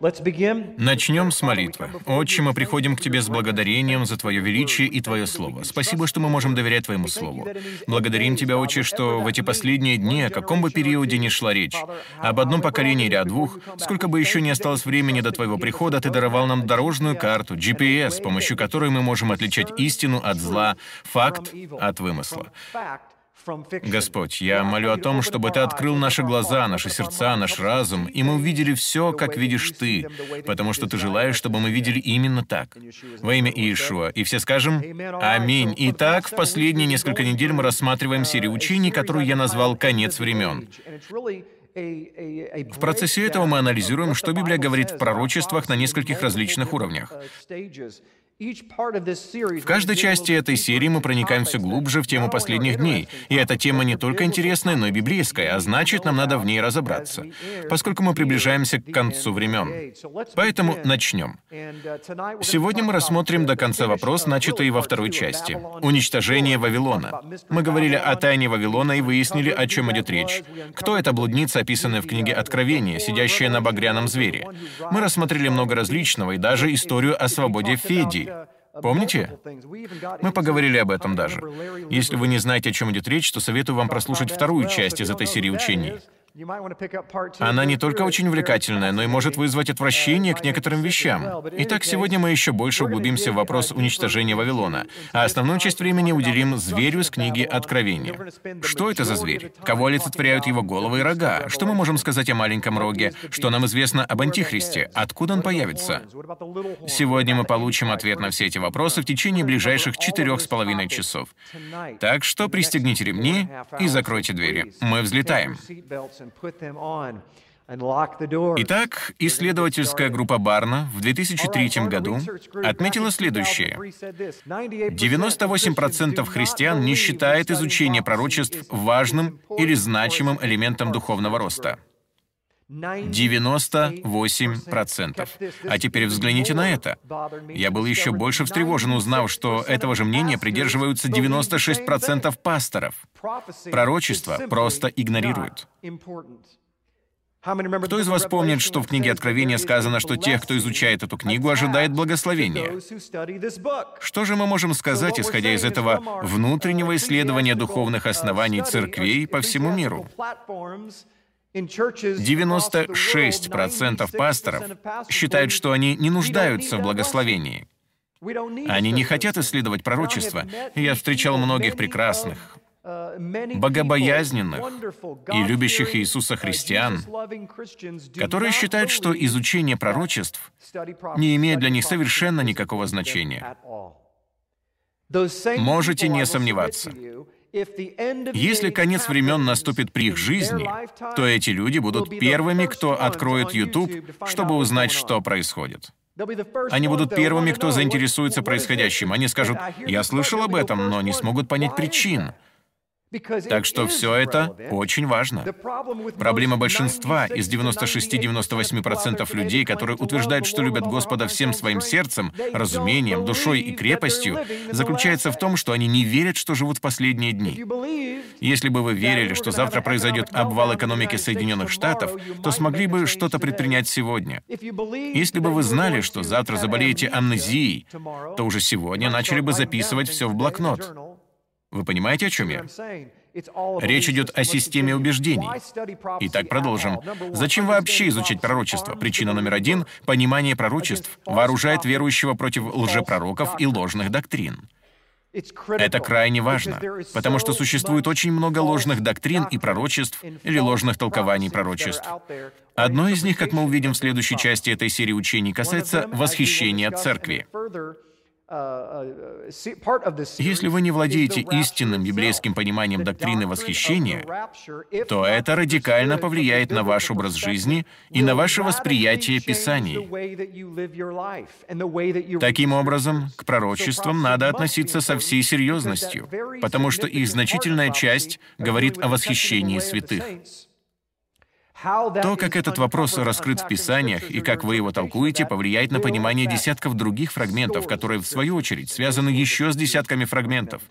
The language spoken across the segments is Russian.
Начнем с молитвы. Отче, мы приходим к Тебе с благодарением за Твое величие и Твое Слово. Спасибо, что мы можем доверять Твоему Слову. Благодарим Тебя, Отче, что в эти последние дни, о каком бы периоде ни шла речь, об одном поколении или о двух, сколько бы еще не осталось времени до Твоего прихода, Ты даровал нам дорожную карту, GPS, с помощью которой мы можем отличать истину от зла, факт от вымысла. Господь, я молю о том, чтобы Ты открыл наши глаза, наши сердца, наш разум, и мы увидели все, как видишь Ты, потому что Ты желаешь, чтобы мы видели именно так. Во имя Иешуа. И все скажем «Аминь». Итак, в последние несколько недель мы рассматриваем серию учений, которую я назвал «Конец времен». В процессе этого мы анализируем, что Библия говорит в пророчествах на нескольких различных уровнях. В каждой части этой серии мы проникаем все глубже в тему последних дней, и эта тема не только интересная, но и библейская, а значит, нам надо в ней разобраться, поскольку мы приближаемся к концу времен. Поэтому начнем. Сегодня мы рассмотрим до конца вопрос, начатый во второй части — уничтожение Вавилона. Мы говорили о тайне Вавилона и выяснили, о чем идет речь. Кто эта блудница, описанная в книге Откровения, сидящая на багряном звере? Мы рассмотрели много различного и даже историю о свободе Федии. Помните? Мы поговорили об этом даже. Если вы не знаете, о чем идет речь, то советую вам прослушать вторую часть из этой серии учений. Она не только очень увлекательная, но и может вызвать отвращение к некоторым вещам. Итак, сегодня мы еще больше углубимся в вопрос уничтожения Вавилона, а основную часть времени уделим зверю с книги Откровения. Что это за зверь? Кого олицетворяют его головы и рога? Что мы можем сказать о маленьком роге? Что нам известно об Антихристе? Откуда он появится? Сегодня мы получим ответ на все эти вопросы в течение ближайших 4,5 часов. Так что пристегните ремни и закройте двери. Мы взлетаем. Итак, исследовательская группа Барна в 2003 году отметила следующее. 98% христиан не считает изучение пророчеств важным или значимым элементом духовного роста. 98%. А теперь взгляните на это. Я был еще больше встревожен, узнав, что этого же мнения придерживаются 96% пасторов. Пророчество просто игнорируют. Кто из вас помнит, что в книге Откровения сказано, что тех, кто изучает эту книгу, ожидает благословение? Что же мы можем сказать, исходя из этого внутреннего исследования духовных оснований церквей по всему миру? 96% пасторов считают, что они не нуждаются в благословении. Они не хотят исследовать пророчество. Я встречал многих прекрасных, богобоязненных и любящих Иисуса христиан, которые считают, что изучение пророчеств не имеет для них совершенно никакого значения. Можете не сомневаться. Если конец времен наступит при их жизни, то эти люди будут первыми, кто откроет YouTube, чтобы узнать, что происходит. Они будут первыми, кто заинтересуется происходящим. Они скажут: «Я слышал об этом», но не смогут понять причин. Так что все это очень важно. Проблема большинства из 96-98% людей, которые утверждают, что любят Господа всем своим сердцем, разумением, душой и крепостью, заключается в том, что они не верят, что живут в последние дни. Если бы вы верили, что завтра произойдет обвал экономики Соединенных Штатов, то смогли бы что-то предпринять сегодня. Если бы вы знали, что завтра заболеете амнезией, то уже сегодня начали бы записывать все в блокнот. Вы понимаете, о чем я? Речь идет о системе убеждений. Итак, продолжим. Зачем вообще изучать пророчество? Причина номер 1 — понимание пророчеств вооружает верующего против лжепророков и ложных доктрин. Это крайне важно, потому что существует очень много ложных доктрин и пророчеств или ложных толкований пророчеств. Одно из них, как мы увидим в следующей части этой серии учений, касается восхищения церкви. Если вы не владеете истинным библейским пониманием доктрины восхищения, то это радикально повлияет на ваш образ жизни и на ваше восприятие Писаний. Таким образом, к пророчествам надо относиться со всей серьезностью, потому что их значительная часть говорит о восхищении святых. То, как этот вопрос раскрыт в Писаниях и как вы его толкуете, повлияет на понимание десятков других фрагментов, которые, в свою очередь, связаны еще с десятками фрагментов.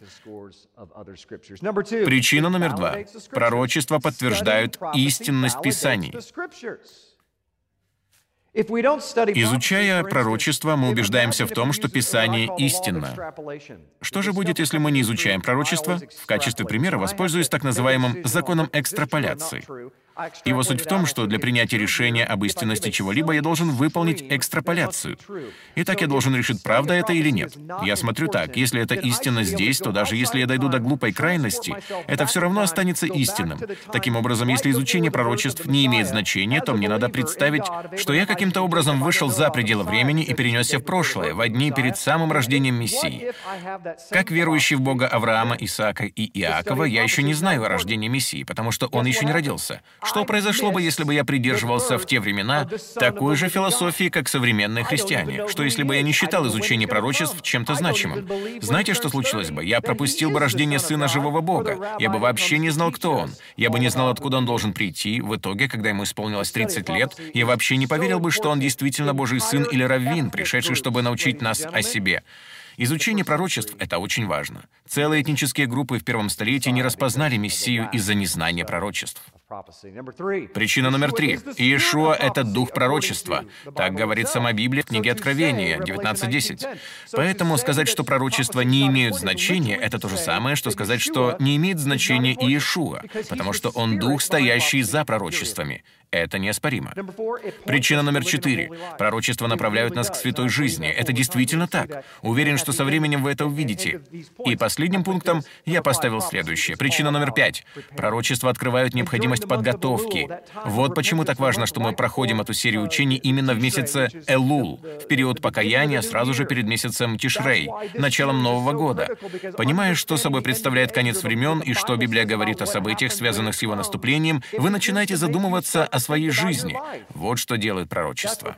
Причина номер 2. Пророчества подтверждают истинность Писаний. Изучая пророчество, мы убеждаемся в том, что Писание истинно. Что же будет, если мы не изучаем пророчество? В качестве примера воспользуюсь так называемым законом экстраполяции. Его суть в том, что для принятия решения об истинности чего-либо я должен выполнить экстраполяцию. Итак, я должен решить, правда это или нет. Я смотрю так, если это истина здесь, то даже если я дойду до глупой крайности, это все равно останется истинным. Таким образом, если изучение пророчеств не имеет значения, то мне надо представить, что я каким-то образом вышел за пределы времени и перенесся в прошлое, во дни перед самым рождением Мессии. Как верующий в Бога Авраама, Исаака и Иакова, я еще не знаю о рождении Мессии, потому что он еще не родился. Что произошло бы, если бы я придерживался в те времена такой же философии, как современные христиане? Что если бы я не считал изучение пророчеств чем-то значимым? Знаете, что случилось бы? Я пропустил бы рождение Сына Живого Бога. Я бы вообще не знал, кто Он. Я бы не знал, откуда Он должен прийти. В итоге, когда ему исполнилось 30 лет, я вообще не поверил бы, что Он действительно Божий Сын или раввин, пришедший, чтобы научить нас о себе. Изучение пророчеств — это очень важно. Целые этнические группы в первом столетии не распознали Мессию из-за незнания пророчеств. Причина номер 3. Иешуа — это дух пророчества. Так говорит сама Библия в книге Откровения 19:10. Поэтому сказать, что пророчества не имеют значения, это то же самое, что сказать, что не имеет значения Иешуа, потому что он дух, стоящий за пророчествами. Это неоспоримо. Причина номер 4. Пророчества направляют нас к святой жизни. Это действительно так. Уверен, что со временем вы это увидите. И последним пунктом я поставил следующее. Причина номер 5. Пророчества открывают необходимость подготовки. Вот почему так важно, что мы проходим эту серию учений именно в месяце Элул, в период покаяния, сразу же перед месяцем Тишрей, началом Нового года. Понимая, что собой представляет конец времен и что Библия говорит о событиях, связанных с его наступлением, вы начинаете задумываться о своей жизни. Вот что делает пророчество.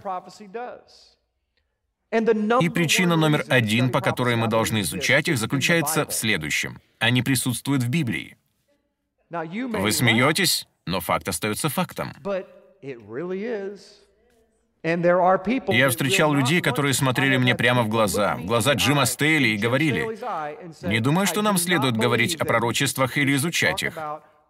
И причина номер 1, по которой мы должны изучать их, заключается в следующем. Они присутствуют в Библии. Вы смеетесь, но факт остается фактом. Я встречал людей, которые смотрели мне прямо в глаза Джима Стейли, и говорили: «Не думаю, что нам следует говорить о пророчествах или изучать их».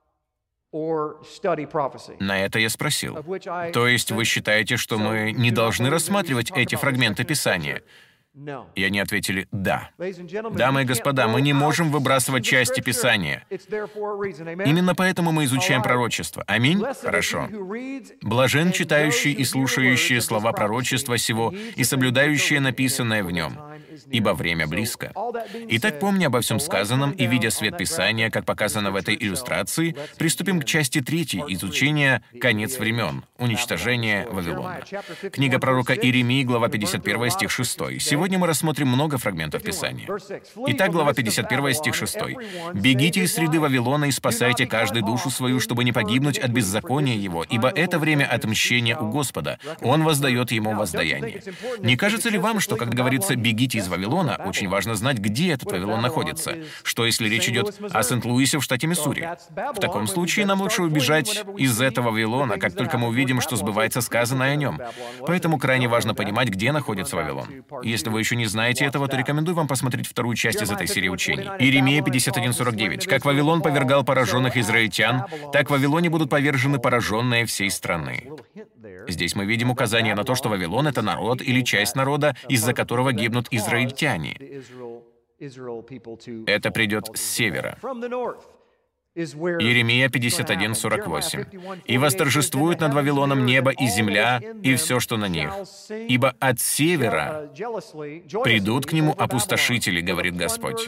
На это я спросил: «То есть вы считаете, что мы не должны рассматривать эти фрагменты Писания?» И они ответили: «Да». Дамы и господа, мы не можем выбрасывать части Писания. Именно поэтому мы изучаем пророчество. Аминь? Хорошо. «Блажен читающий и слушающий слова пророчества сего и соблюдающие написанное в нем, ибо время близко». Итак, помня обо всем сказанном и видя свет Писания, как показано в этой иллюстрации, приступим к части 3 изучения «Конец времен. Уничтожение Вавилона». Книга пророка Иеремии, глава 51, стих 6. Сегодня мы рассмотрим много фрагментов Писания. Итак, глава 51, стих 6. «Бегите из среды Вавилона и спасайте каждую душу свою, чтобы не погибнуть от беззакония его, ибо это время отмщения у Господа. Он воздает ему воздаяние». Не кажется ли вам, что, когда говорится «бегите из Вавилона», очень важно знать, где этот Вавилон находится? Что, если речь идет о Сент-Луисе в штате Миссури? В таком случае нам лучше убежать из этого Вавилона, как только мы увидим, что сбывается сказанное о нем. Поэтому крайне важно понимать, где находится Вавилон. Если вы еще не знаете этого, то рекомендую вам посмотреть вторую часть из этой серии учений. Иеремия 51:49. «Как Вавилон повергал пораженных израильтян, так в Вавилоне будут повержены пораженные всей страны». Здесь мы видим указание на то, что Вавилон — это народ или часть народа, из-за которого гибнут израильтяне. Это придет с севера. Иеремия 51:48. «И восторжествует над Вавилоном небо и земля, и все, что на них. Ибо от севера придут к нему опустошители, говорит Господь».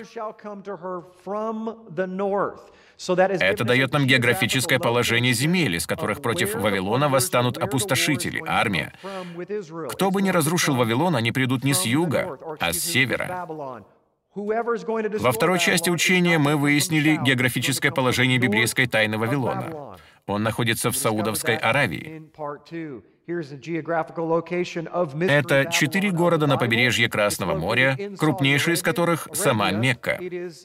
Это дает нам географическое положение земель, из которых против Вавилона восстанут опустошители, армия. Кто бы ни разрушил Вавилон, они придут не с юга, а с севера. Во второй части учения мы выяснили географическое положение библейской тайны Вавилона. Он находится в Саудовской Аравии. Это 4 города на побережье Красного моря, крупнейший из которых — сама Мекка.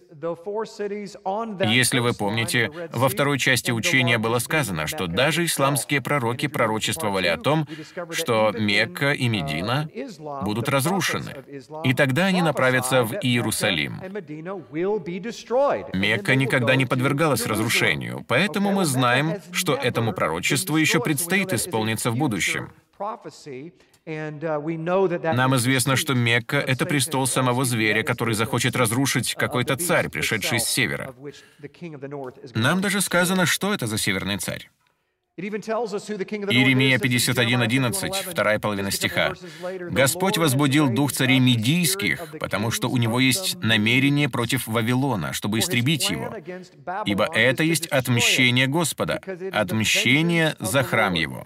Если вы помните, во второй части учения было сказано, что даже исламские пророки пророчествовали о том, что Мекка и Медина будут разрушены, и тогда они направятся в Иерусалим. Мекка никогда не подвергалась разрушению, поэтому мы знаем, что этому пророчеству еще предстоит исполниться в будущем. Нам известно, что Мекка — это престол самого зверя, который захочет разрушить какой-то царь, пришедший с севера. Нам даже сказано, что это за северный царь. Иеремия 51:11, вторая половина стиха. «Господь возбудил дух царей медийских, потому что у него есть намерение против Вавилона, чтобы истребить его. Ибо это есть отмщение Господа, отмщение за храм его».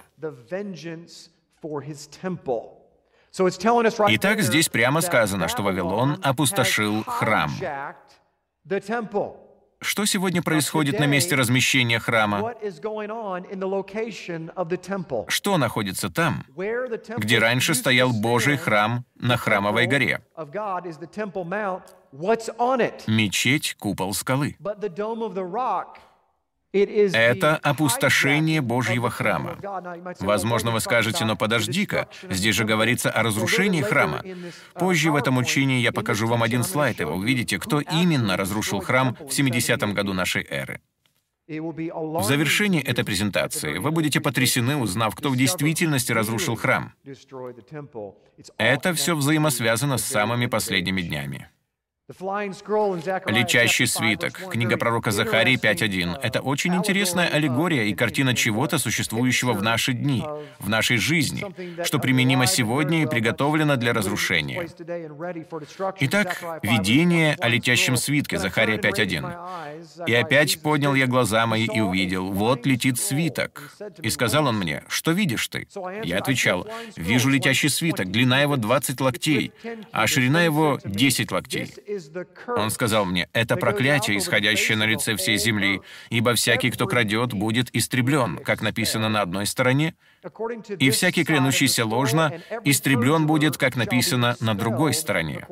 Итак, здесь прямо сказано, что Вавилон опустошил храм. Что сегодня происходит на месте размещения храма? Что находится там, где раньше стоял Божий храм на Храмовой горе? Мечеть, купол скалы. Это опустошение Божьего храма. Возможно, вы скажете, но подожди-ка, здесь же говорится о разрушении храма. Позже в этом учении я покажу вам один слайд, и вы увидите, кто именно разрушил храм в 70-м году нашей эры. В завершении этой презентации вы будете потрясены, узнав, кто в действительности разрушил храм. Это все взаимосвязано с самыми последними днями. Летящий свиток, книга пророка Захарии 5:1. Это очень интересная аллегория и картина чего-то, существующего в наши дни, в нашей жизни, что применимо сегодня и приготовлено для разрушения. Итак, видение о летящем свитке, Захария 5:1. «И опять поднял я глаза мои и увидел, вот летит свиток. И сказал он мне, что видишь ты? Я отвечал, вижу летящий свиток, длина его 20 локтей, а ширина его 10 локтей. Он сказал мне, это проклятие, исходящее на лице всей земли, ибо всякий, кто крадет, будет истреблен, как написано на одной стороне, и всякий, клянущийся ложно, истреблен будет, как написано на другой стороне.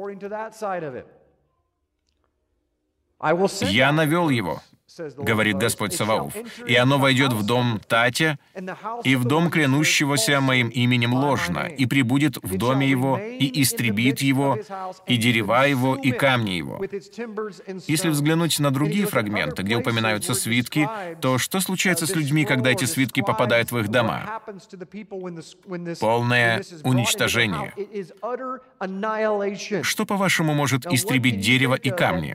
Я навел его, говорит Господь Саваоф, и оно войдет в дом Татя и в дом клянущегося моим именем ложно, и прибудет в доме его, и истребит его, и дерева его, и камни его». Если взглянуть на другие фрагменты, где упоминаются свитки, то что случается с людьми, когда эти свитки попадают в их дома? Полное уничтожение. Что, по-вашему, может истребить дерево и камни?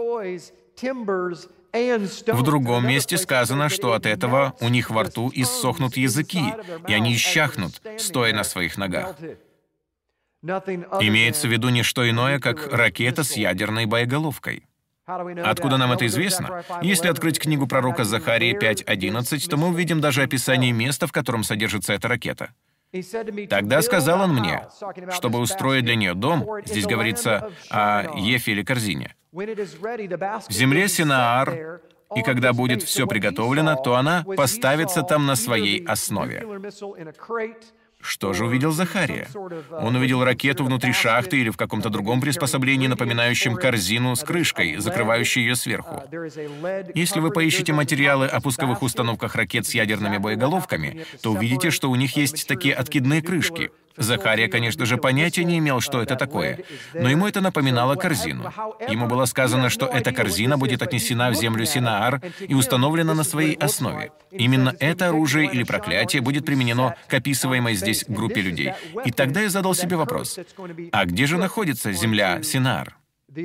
В другом месте сказано, что от этого у них во рту иссохнут языки, и они исчахнут, стоя на своих ногах. Имеется в виду не что иное, как ракета с ядерной боеголовкой. Откуда нам это известно? Если открыть книгу пророка Захарии 5:11, то мы увидим даже описание места, в котором содержится эта ракета. «Тогда сказал он мне, чтобы устроить для нее дом», здесь говорится о ефе или корзине, «в земле Синаар, и когда будет все приготовлено, то она поставится там на своей основе». Что же увидел Захария? Он увидел ракету внутри шахты или в каком-то другом приспособлении, напоминающем корзину с крышкой, закрывающей ее сверху. Если вы поищете материалы о пусковых установках ракет с ядерными боеголовками, то увидите, что у них есть такие откидные крышки. Захария, конечно же, понятия не имел, что это такое, но ему это напоминало корзину. Ему было сказано, что эта корзина будет отнесена в землю Синаар и установлена на своей основе. Именно это оружие или проклятие будет применено к описываемой здесь группе людей. И тогда я задал себе вопрос, а где же находится земля Синаар?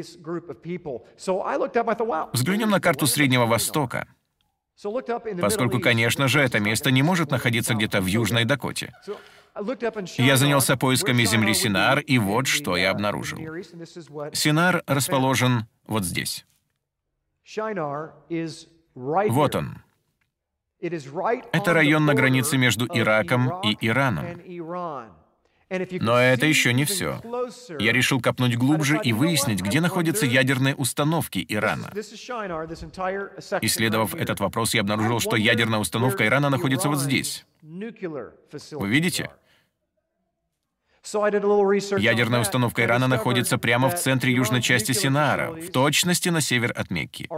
Взглянем на карту Среднего Востока, поскольку, конечно же, это место не может находиться где-то в Южной Дакоте. Я занялся поисками земли Синаар, и вот что я обнаружил. Синаар расположен вот здесь. Вот он. Это район на границе между Ираком и Ираном. Но это еще не все. Я решил копнуть глубже и выяснить, где находятся ядерные установки Ирана. Исследовав этот вопрос, я обнаружил, что ядерная установка Ирана находится вот здесь. Вы видите? Ядерная установка Ирана находится прямо в центре южной части Синаара, в точности на север от Мекки.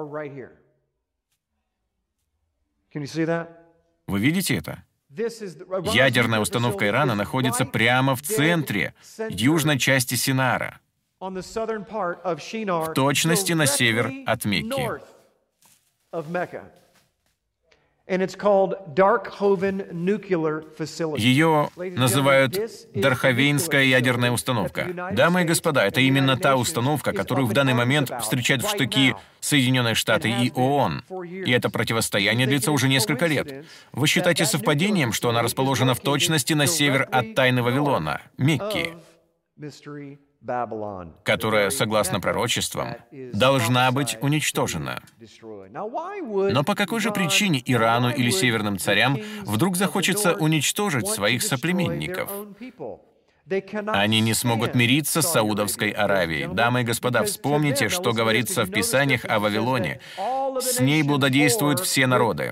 Вы видите это? Ядерная установка Ирана находится прямо в центре южной части Синаара, в точности на север от Мекки. Ее называют Дарховейнская ядерная установка. Дамы и господа, это именно та установка, которую в данный момент встречают в штыки Соединенные Штаты и ООН. И это противостояние длится уже несколько лет. Вы считаете совпадением, что она расположена в точности на север от Тайны Вавилона, Мекки, которая, согласно пророчествам, должна быть уничтожена. Но по какой же причине Ирану или северным царям вдруг захочется уничтожить своих соплеменников? Они не смогут мириться с Саудовской Аравией. Дамы и господа, вспомните, что говорится в Писаниях о Вавилоне. С ней блудодействуют все народы.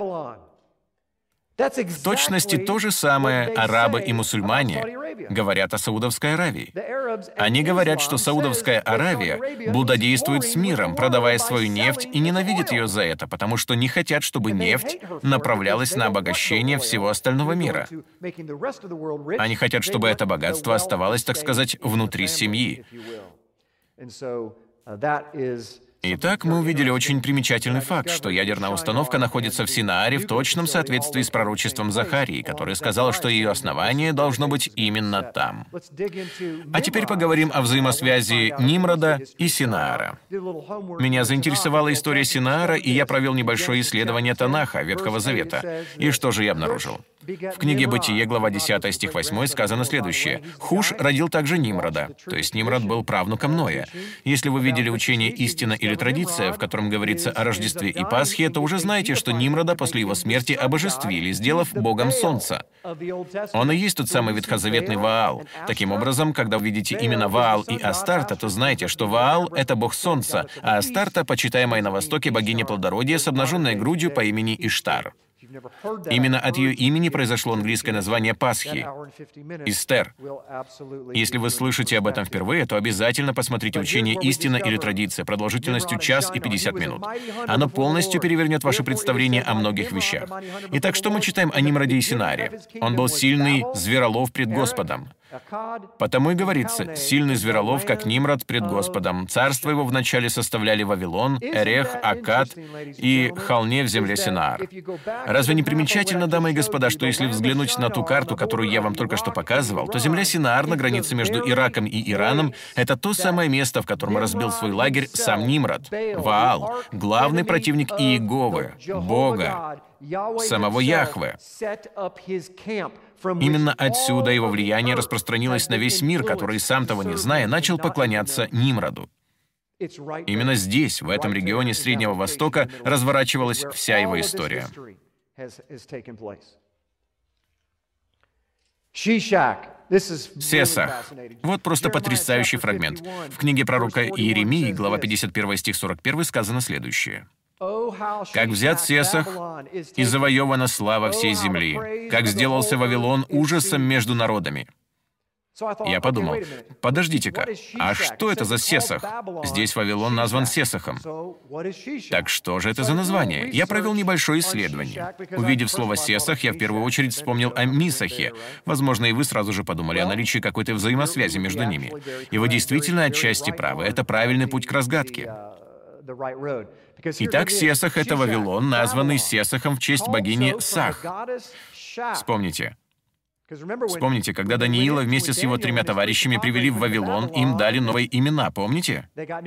В точности то же самое арабы и мусульмане говорят о Саудовской Аравии. Они говорят, что Саудовская Аравия блудодействует с миром, продавая свою нефть, и ненавидят ее за это, потому что не хотят, чтобы нефть направлялась на обогащение всего остального мира. Они хотят, чтобы это богатство оставалось, так сказать, внутри семьи. Итак, мы увидели очень примечательный факт, что ядерная установка находится в Синааре в точном соответствии с пророчеством Захарии, который сказал, что ее основание должно быть именно там. А теперь поговорим о взаимосвязи Нимрода и Синаара. Меня заинтересовала история Синаара, и я провел небольшое исследование Танаха, Ветхого Завета. И что же я обнаружил? В книге «Бытие», глава 10, стих 8, сказано следующее. «Хуш родил также Нимрода», то есть Нимрод был правнуком Ноя. Если вы видели учение «Истина» или «Традиция», в котором говорится о Рождестве и Пасхе, то уже знаете, что Нимрода после его смерти обожествили, сделав богом солнца. Он и есть тот самый ветхозаветный Ваал. Таким образом, когда вы видите именно Ваал и Астарта, то знайте, что Ваал — это бог солнца, а Астарта, почитаемая на Востоке богиня плодородия с обнаженной грудью по имени Иштар. Именно от ее имени произошло английское название Пасхи — Эстер. Если вы слышите об этом впервые, то обязательно посмотрите учение «Истина» или «Традиция» продолжительностью 1 час и 50 минут. Оно полностью перевернет ваше представление о многих вещах. Итак, что мы читаем о Нимроде и Синааре? Он был сильный зверолов пред Господом. Потому и говорится, сильный зверолов, как Нимрод пред Господом. Царство его вначале составляли Вавилон, Эрех, Аккад и Халне в земле Синаар. Разве не примечательно, дамы и господа, что если взглянуть на ту карту, которую я вам только что показывал, то земля Синаар на границе между Ираком и Ираном — это то самое место, в котором разбил свой лагерь сам Нимрод, Ваал, главный противник Иеговы, Бога, самого Яхве. Именно отсюда его влияние распространилось на весь мир, который, сам того не зная, начал поклоняться Нимроду. Именно здесь, в этом регионе Среднего Востока, разворачивалась вся его история. Сесах. Вот просто потрясающий фрагмент. В книге пророка Иеремии, глава 51, стих 41, сказано следующее. «Как взят Сесах, и завоевана слава всей земли, как сделался Вавилон ужасом между народами». Я подумал, подождите-ка, а что это за Сесах? Здесь Вавилон назван Сесахом. Так что же это за название? Я провел небольшое исследование. Увидев слово «Сесах», я в первую очередь вспомнил о Мисахе. Возможно, и вы сразу же подумали о наличии какой-то взаимосвязи между ними. И вы действительно отчасти правы. Это правильный путь к разгадке. Итак, Сесах — это Вавилон, названный Сесахом в честь богини Сах. Вспомните, когда Даниила вместе с его 3 товарищами привели в Вавилон, им дали новые имена, помните?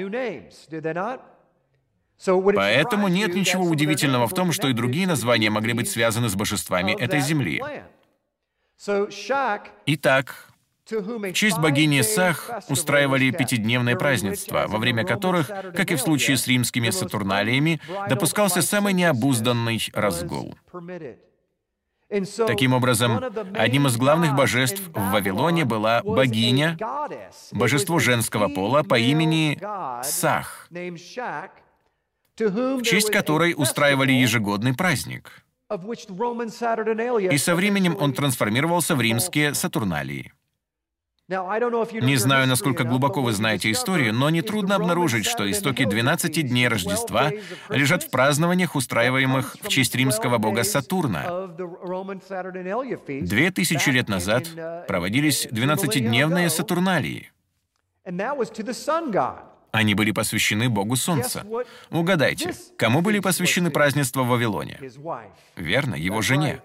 Поэтому нет ничего удивительного в том, что и другие названия могли быть связаны с божествами этой земли. Итак, в честь богини Сах устраивали 5-дневные празднества, во время которых, как и в случае с римскими сатурналиями, допускался самый необузданный разгул. Таким образом, одним из главных божеств в Вавилоне была богиня, божество женского пола по имени Сах, в честь которой устраивали ежегодный праздник. И со временем он трансформировался в римские сатурналии. Не знаю, насколько глубоко вы знаете историю, но нетрудно обнаружить, что истоки 12 дней Рождества лежат в празднованиях, устраиваемых в честь римского бога Сатурна. 2000 лет назад проводились 12-дневные Сатурналии. Они были посвящены Богу Солнца. Угадайте, кому были посвящены празднества в Вавилоне? Верно, его жене.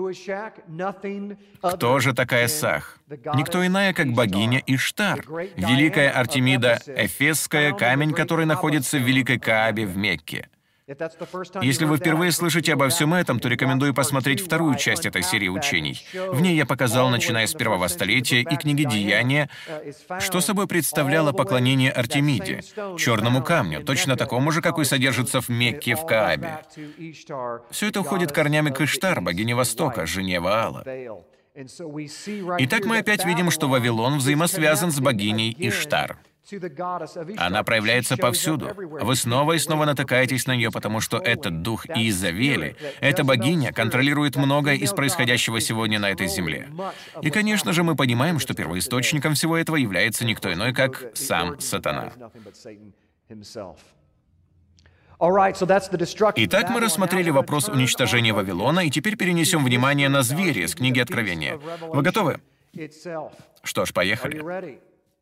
Кто же такая Сах? Никто иная, как богиня Иштар, великая Артемида Эфесская, камень, который находится в Великой Каабе в Мекке. Если вы впервые слышите обо всем этом, то рекомендую посмотреть вторую часть этой серии учений. В ней я показал, начиная с первого столетия и книги «Деяния», что собой представляло поклонение Артемиде, черному камню, точно такому же, какой содержится в Мекке в Каабе. Все это уходит корнями к Иштар, богине Востока, жене Ваала. Итак, мы опять видим, что Вавилон взаимосвязан с богиней Иштар. Она проявляется повсюду. Вы снова и снова натыкаетесь на нее, потому что этот дух Иезавели, эта богиня, контролирует многое из происходящего сегодня на этой земле. И, конечно же, мы понимаем, что первоисточником всего этого является никто иной, как сам Сатана. Итак, мы рассмотрели вопрос уничтожения Вавилона, и теперь перенесем внимание на звери из книги Откровения. Вы готовы? Что ж, поехали.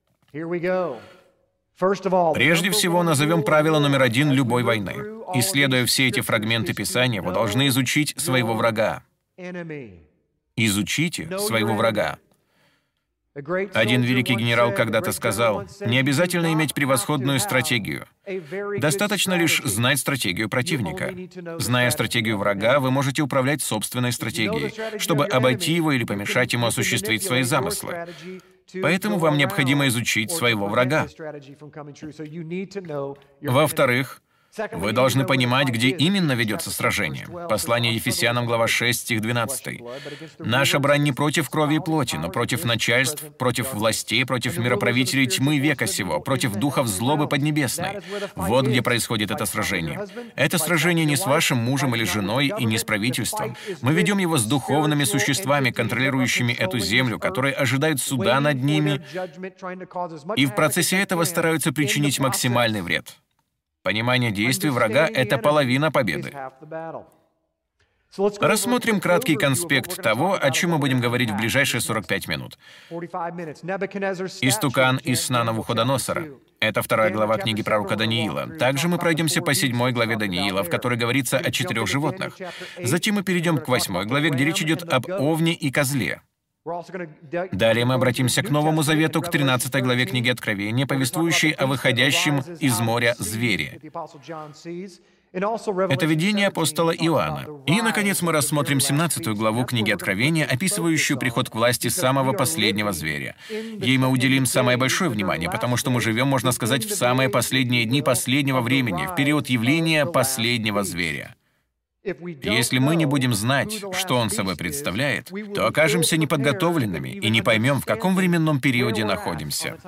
Прежде всего, назовем правило номер 1 любой войны. Исследуя все эти фрагменты Писания, вы должны изучить своего врага. Изучите своего врага. Один великий генерал когда-то сказал, не обязательно иметь превосходную стратегию. Достаточно лишь знать стратегию противника. Зная стратегию врага, вы можете управлять собственной стратегией, чтобы обойти его или помешать ему осуществить свои замыслы. Поэтому вам необходимо изучить своего врага. Во-вторых, вы должны понимать, где именно ведется сражение. Послание Ефесянам, глава 6, стих 12. «Наша брань не против крови и плоти, но против начальств, против властей, против мироправителей тьмы века сего, против духов злобы поднебесной». Вот где происходит это сражение. Это сражение не с вашим мужем или женой и не с правительством. Мы ведем его с духовными существами, контролирующими эту землю, которые ожидают суда над ними, и в процессе этого стараются причинить максимальный вред. Понимание действий врага — это половина победы. Рассмотрим краткий конспект того, о чем мы будем говорить в ближайшие 45 минут. Истукан из сна Навуходоносора. Это 2 глава книги пророка Даниила. Также мы пройдемся по 7 главе Даниила, в которой говорится о 4 животных. Затем мы перейдем к 8 главе, где речь идет об овне и козле. Далее мы обратимся к Новому Завету, к 13 главе книги Откровения, повествующей о выходящем из моря звере. Это видение апостола Иоанна. И, наконец, мы рассмотрим 17 главу книги Откровения, описывающую приход к власти самого последнего зверя. Ей мы уделим самое большое внимание, потому что мы живем, можно сказать, в самые последние дни последнего времени, в период явления последнего зверя. Если мы не будем знать, что он собой представляет, то окажемся неподготовленными и не поймем, в каком временном периоде находимся.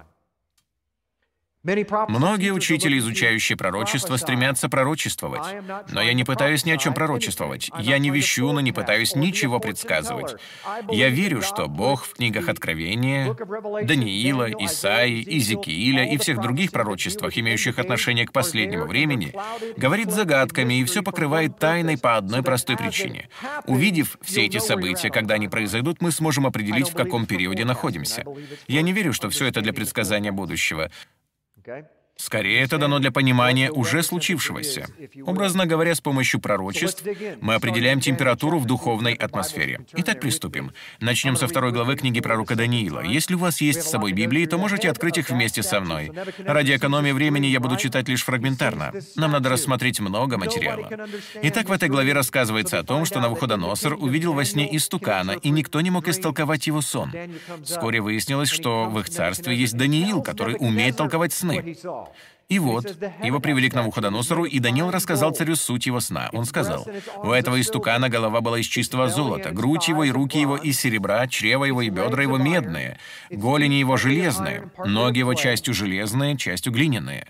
Многие учители, изучающие пророчество, стремятся пророчествовать. Но я не пытаюсь ни о чем пророчествовать. Я не вещу, но не пытаюсь ничего предсказывать. Я верю, что Бог в книгах Откровения, Даниила, Исаии, Иезекииля и всех других пророчествах, имеющих отношение к последнему времени, говорит загадками и все покрывает тайной по одной простой причине. Увидев все эти события, когда они произойдут, мы сможем определить, в каком периоде находимся. Я не верю, что все это для предсказания будущего. Скорее, это дано для понимания уже случившегося. Образно говоря, с помощью пророчеств мы определяем температуру в духовной атмосфере. Итак, приступим. Начнем со 2 главы книги пророка Даниила. Если у вас есть с собой Библии, то можете открыть их вместе со мной. Ради экономии времени я буду читать лишь фрагментарно. Нам надо рассмотреть много материала. Итак, в этой главе рассказывается о том, что Навуходоносор увидел во сне истукана, и никто не мог истолковать его сон. Вскоре выяснилось, что в их царстве есть Даниил, который умеет толковать сны. И вот, его привели к Навуходоносору, и Даниил рассказал царю суть его сна. Он сказал, у этого истукана голова была из чистого золота, грудь его и руки его из серебра, чрево его и бедра его медные, голени его железные, ноги его частью железные, частью глиняные.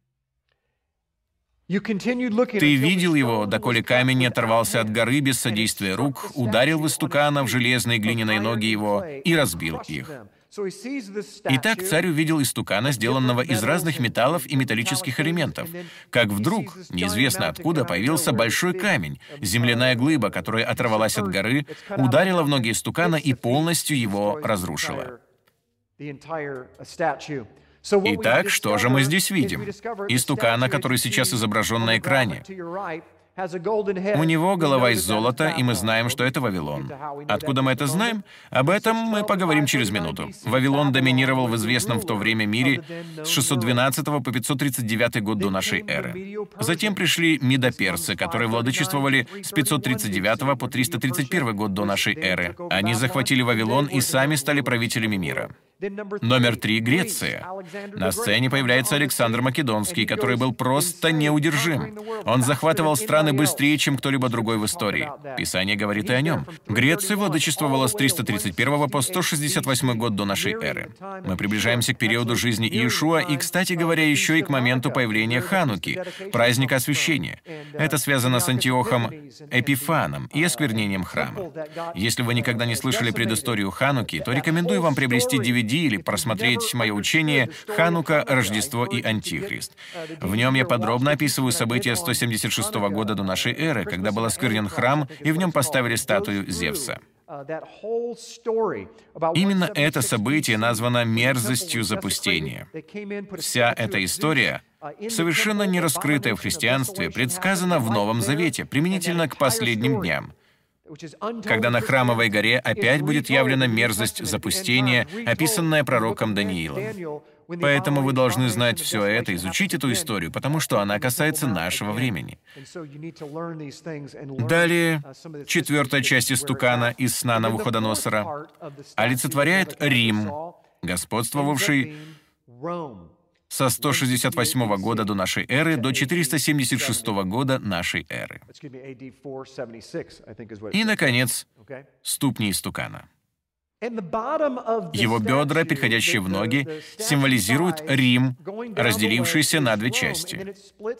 Ты видел его, доколе камень не оторвался от горы без содействия рук, ударил в истукана в железные глиняные ноги его и разбил их. Итак, царь увидел истукана, сделанного из разных металлов и металлических элементов. Как вдруг, неизвестно откуда, появился большой камень, земляная глыба, которая оторвалась от горы, ударила в ноги истукана и полностью его разрушила. Итак, что же мы здесь видим? Истукана, который сейчас изображен на экране. У него голова из золота, и мы знаем, что это Вавилон. Откуда мы это знаем? Об этом мы поговорим через минуту. Вавилон доминировал в известном в то время мире с 612 по 539 год до нашей эры. Затем пришли медоперсы, которые владычествовали с 539 по 331 год до нашей эры. Они захватили Вавилон и сами стали правителями мира. Номер 3 — Греция. На сцене появляется Александр Македонский, который был просто неудержим. Он захватывал страны быстрее, чем кто-либо другой в истории. Писание говорит и о нем. Греция владычествовала с 331 по 168 год до нашей эры. Мы приближаемся к периоду жизни Иешуа и, кстати говоря, еще и к моменту появления Хануки, праздника освящения. Это связано с Антиохом Эпифаном и осквернением храма. Если вы никогда не слышали предысторию Хануки, то рекомендую вам приобрести DVD или просмотреть мое учение «Ханука, Рождество и Антихрист». В нем я подробно описываю события 176 года до нашей эры, когда был осквернен храм, и в нем поставили статую Зевса. Именно это событие названо мерзостью запустения. Вся эта история, совершенно не раскрытая в христианстве, предсказана в Новом Завете, применительно к последним дням, когда на Храмовой горе опять будет явлена мерзость запустения, описанная пророком Даниилом. Поэтому вы должны знать все это, изучить эту историю, потому что она касается нашего времени. Далее, 4-я часть истукана из сна Навуходоносора олицетворяет Рим, господствовавший со 168 года до нашей эры до 476 года нашей эры. И, наконец, ступни истукана. Его бедра, переходящие в ноги, символизируют Рим, разделившийся на две части.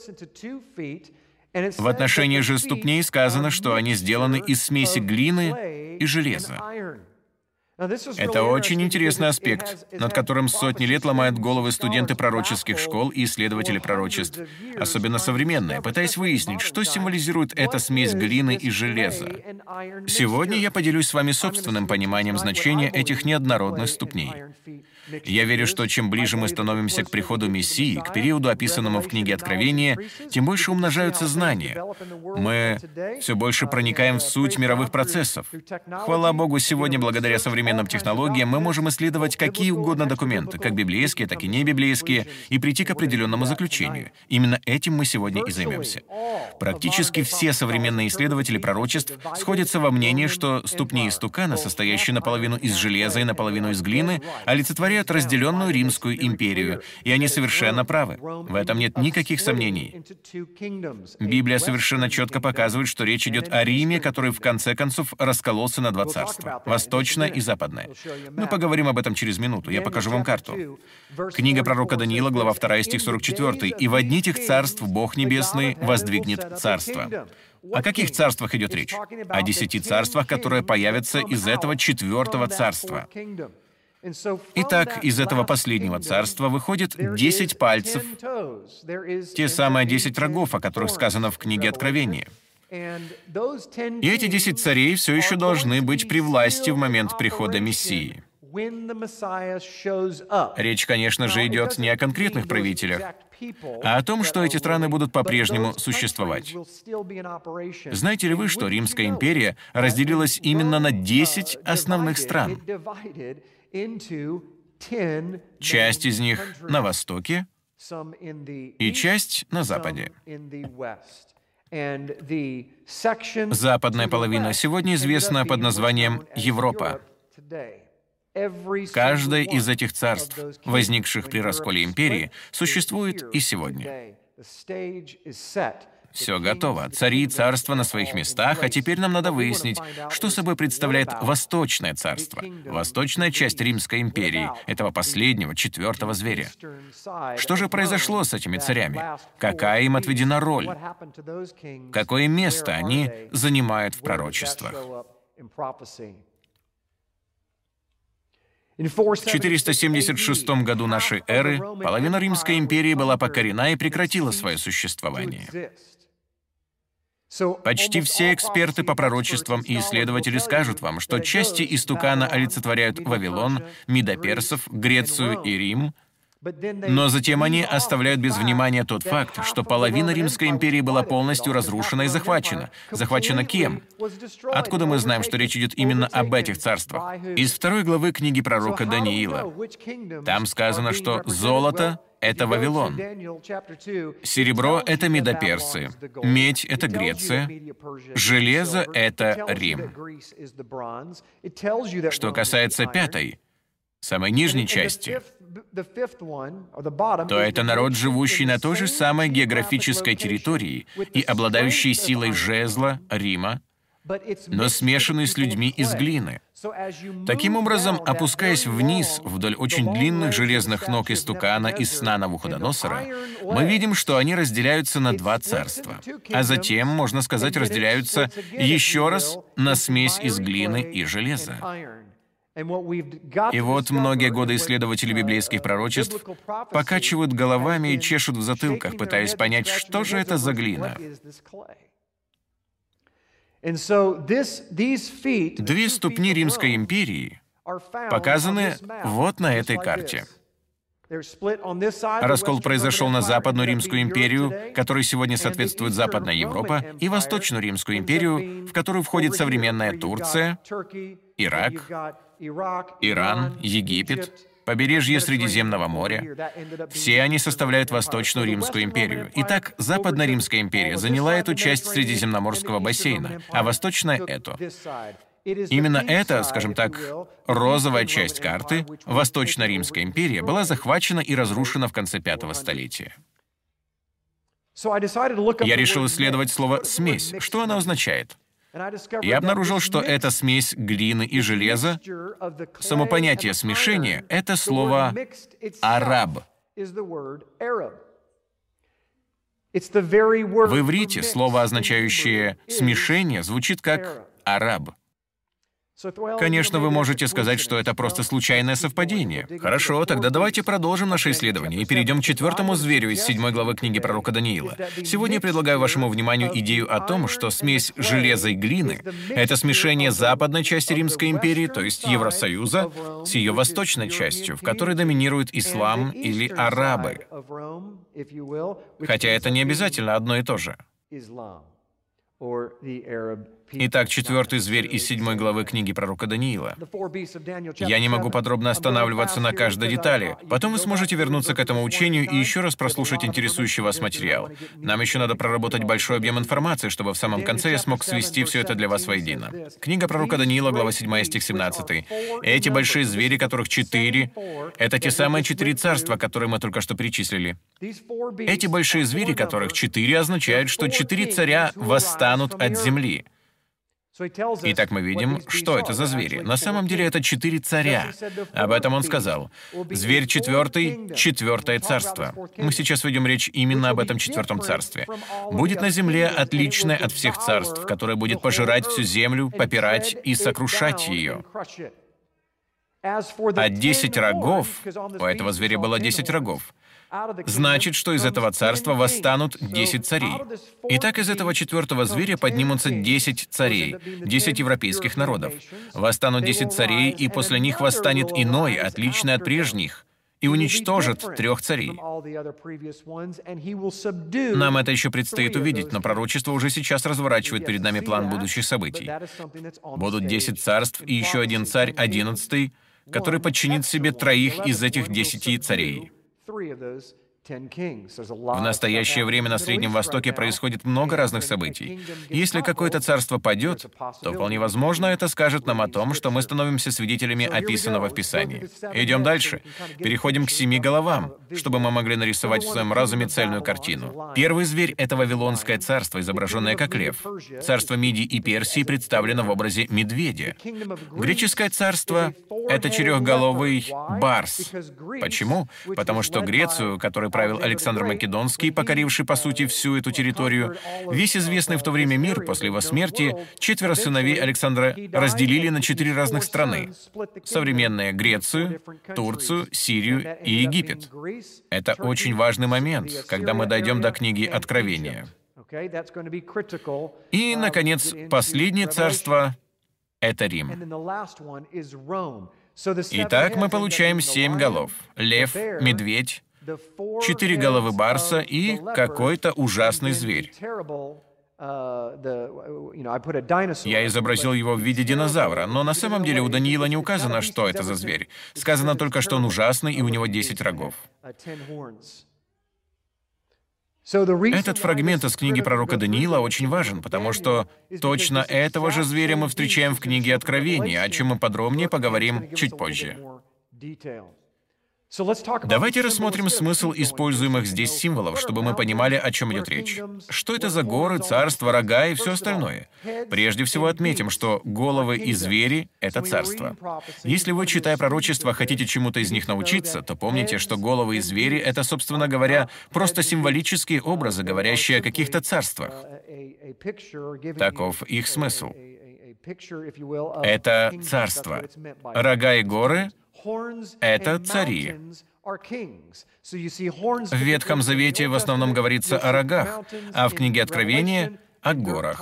В отношении же ступней сказано, что они сделаны из смеси глины и железа. Это очень интересный аспект, над которым сотни лет ломают головы студенты пророческих школ и исследователи пророчеств, особенно современные, пытаясь выяснить, что символизирует эта смесь глины и железа. Сегодня я поделюсь с вами собственным пониманием значения этих неоднородных ступней. Я верю, что чем ближе мы становимся к приходу Мессии, к периоду, описанному в книге Откровения, тем больше умножаются знания. Мы все больше проникаем в суть мировых процессов. Хвала Богу, сегодня, благодаря современным технологиям, мы можем исследовать какие угодно документы, как библейские, так и небиблейские, и прийти к определенному заключению. Именно этим мы сегодня и займемся. Практически все современные исследователи пророчеств сходятся во мнении, что ступни истукана, состоящие наполовину из железа и наполовину из глины, олицетворяют разделенную Римскую империю, и они совершенно правы. В этом нет никаких сомнений. Библия совершенно четко показывает, что речь идет о Риме, который в конце концов раскололся на два царства — восточное и западное. Мы поговорим об этом через минуту, я покажу вам карту. Книга пророка Даниила, глава 2, стих 44. «И во дни тех царств Бог Небесный воздвигнет царство». О каких царствах идет речь? О 10 царствах, которые появятся из этого 4-го царства. Итак, из этого последнего царства выходит 10 пальцев, те самые 10 рогов, о которых сказано в книге Откровения. И эти 10 царей все еще должны быть при власти в момент прихода Мессии. Речь, конечно же, идет не о конкретных правителях, а о том, что эти страны будут по-прежнему существовать. Знаете ли вы, что Римская империя разделилась именно на 10 основных стран? Часть из них на востоке и часть на западе. Западная половина сегодня известна под названием Европа. Каждое из этих царств, возникших при расколе империи, существует и сегодня. Все готово. Цари и царства на своих местах, а теперь нам надо выяснить, что собой представляет Восточное царство, восточная часть Римской империи, этого последнего, 4-го зверя. Что же произошло с этими царями? Какая им отведена роль? Какое место они занимают в пророчествах? В 476 году нашей эры половина Римской империи была покорена и прекратила свое существование. Почти все эксперты по пророчествам и исследователи скажут вам, что части истукана олицетворяют Вавилон, медоперсов, Грецию и Рим, Но затем они оставляют без внимания тот факт, что половина Римской империи была полностью разрушена и захвачена. Захвачена кем? Откуда мы знаем, что речь идет именно об этих царствах? Из 2 главы книги пророка Даниила. Там сказано, что золото — это Вавилон, серебро — это Медоперсы, медь — это Греция, железо — это Рим. Что касается 5-й, самой нижней части, то это народ, живущий на той же самой географической территории и обладающий силой жезла, Рима, но смешанный с людьми из глины. Таким образом, опускаясь вниз вдоль очень длинных железных ног истукана из сна Навуходоносора, мы видим, что они разделяются на 2 царства, а затем, можно сказать, разделяются еще раз на смесь из глины и железа. И вот многие годы исследователи библейских пророчеств покачивают головами и чешут в затылках, пытаясь понять, что же это за глина. 2 ступни Римской империи показаны вот на этой карте. Раскол произошел на Западную Римскую империю, которой сегодня соответствует Западная Европа, и Восточную Римскую империю, в которую входит современная Турция, Ирак, Иран, Египет, побережье Средиземного моря. Все они составляют Восточную Римскую империю. Итак, Западная Римская империя заняла эту часть Средиземноморского бассейна, а Восточная — эту. Именно эта, скажем так, розовая часть карты, Восточная Римская империя, была захвачена и разрушена в конце 5-го столетия. Я решил исследовать слово «смесь». Что оно означает? Я обнаружил, что это смесь глины и железа. Само понятие смешения — это слово «араб». В иврите слово, означающее «смешение», звучит как «араб». Конечно, вы можете сказать, что это просто случайное совпадение. Хорошо, тогда давайте продолжим наше исследование и перейдем к 4-му зверю из 7 главы книги пророка Даниила. Сегодня я предлагаю вашему вниманию идею о том, что смесь железа и глины — это смешение западной части Римской империи, то есть Евросоюза, с ее восточной частью, в которой доминирует ислам или арабы. Хотя это не обязательно одно и то же. Итак, 4-й зверь из 7 главы книги пророка Даниила. Я не могу подробно останавливаться на каждой детали. Потом вы сможете вернуться к этому учению и еще раз прослушать интересующий вас материал. Нам еще надо проработать большой объем информации, чтобы в самом конце я смог свести все это для вас воедино. Книга пророка Даниила, глава 7, стих 17. Эти большие звери, которых 4, это те самые 4 царства, которые мы только что перечислили. Эти большие звери, которых 4, означают, что 4 царя восстанут от земли. Итак, мы видим, что это за звери. На самом деле это 4 царя. Об этом он сказал. Зверь 4, 4 царство. Мы сейчас ведем речь именно об этом 4-м царстве. Будет на земле отличное от всех царств, которое будет пожирать всю землю, попирать и сокрушать ее. А 10 рогов, у этого зверя было 10 рогов, значит, что из этого царства восстанут 10 царей. Итак, из этого 4-го зверя поднимутся 10 царей, 10 европейских народов. Восстанут 10 царей, и после них восстанет иной, отличный от прежних, и уничтожит 3 царей. Нам это еще предстоит увидеть, но пророчество уже сейчас разворачивает перед нами план будущих событий. Будут 10 царств и еще один царь, 11-й, который подчинит себе 3 из этих 10 царей. В настоящее время на Среднем Востоке происходит много разных событий. Если какое-то царство падет, то вполне возможно это скажет нам о том, что мы становимся свидетелями описанного в Писании. Идем дальше. Переходим к 7 головам, чтобы мы могли нарисовать в своем разуме цельную картину. Первый зверь — это Вавилонское царство, изображенное как лев. Царство Мидии и Персии представлено в образе медведя. Греческое царство — это 4-головый барс. Почему? Потому что Грецию, которой правил Александр Македонский, покоривший, по сути, всю эту территорию, весь известный в то время мир после его смерти, 4 сыновей Александра разделили на 4 разных страны. Современные Грецию, Турцию, Сирию и Египет. Это очень важный момент, когда мы дойдем до книги Откровения. И, наконец, последнее царство — это Рим. Итак, мы получаем 7 голов. Лев, медведь, 4 головы барса и какой-то ужасный зверь. Я изобразил его в виде динозавра, но на самом деле у Даниила не указано, что это за зверь. Сказано только, что он ужасный, и у него 10 рогов. Этот фрагмент из книги пророка Даниила очень важен, потому что точно этого же зверя мы встречаем в книге Откровения, о чем мы подробнее поговорим чуть позже. Давайте рассмотрим смысл используемых здесь символов, чтобы мы понимали, о чем идет речь. Что это за горы, царства, рога и все остальное? Прежде всего отметим, что головы и звери — это царство. Если вы, читая пророчества, хотите чему-то из них научиться, то помните, что головы и звери — это, собственно говоря, просто символические образы, говорящие о каких-то царствах. Таков их смысл. Это царство. Рога и горы — это цари. В Ветхом Завете в основном говорится о рогах, а в книге Откровения — о горах.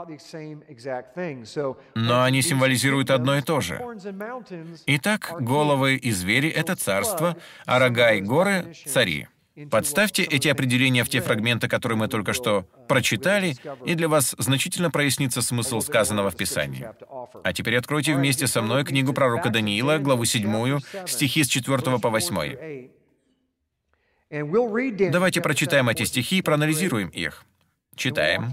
Но они символизируют одно и то же. Итак, головы и звери — это царство, а рога и горы — цари. Подставьте эти определения в те фрагменты, которые мы только что прочитали, и для вас значительно прояснится смысл сказанного в Писании. А теперь откройте вместе со мной книгу пророка Даниила, главу 7, стихи с 4 по 8. Давайте прочитаем эти стихи и проанализируем их. Читаем.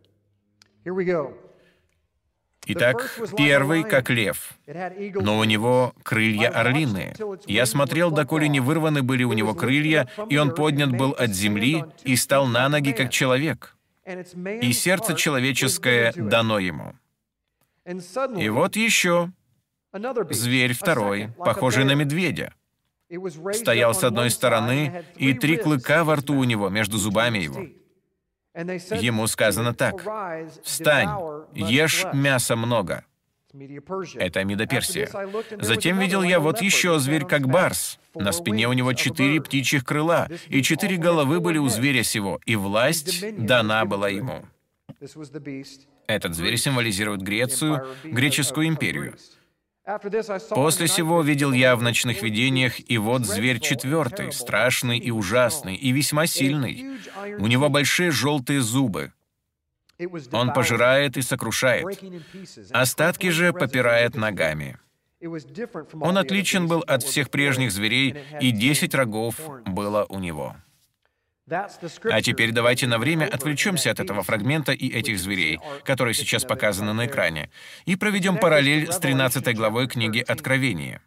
Итак, первый, как лев, но у него крылья орлиные. Я смотрел, доколе не вырваны были у него крылья, и он поднят был от земли и стал на ноги, как человек, и сердце человеческое дано ему. И вот еще зверь второй, похожий на медведя. Стоял с одной стороны, и 3 клыка во рту у него, между зубами его. Ему сказано так: «Встань, ешь мяса много». Это Мидо-Персия. Затем видел я вот еще зверь, как барс. На спине у него 4 птичьих крыла, и 4 головы были у зверя сего, и власть дана была ему. Этот зверь символизирует Грецию, греческую империю. После сего видел я в ночных видениях, и вот зверь 4, страшный и ужасный, и весьма сильный. У него большие желтые зубы. Он пожирает и сокрушает. Остатки же попирает ногами. Он отличен был от всех прежних зверей, и 10 рогов было у него. А теперь давайте на время отвлечемся от этого фрагмента и этих зверей, которые сейчас показаны на экране, и проведем параллель с 13 главой книги Откровения.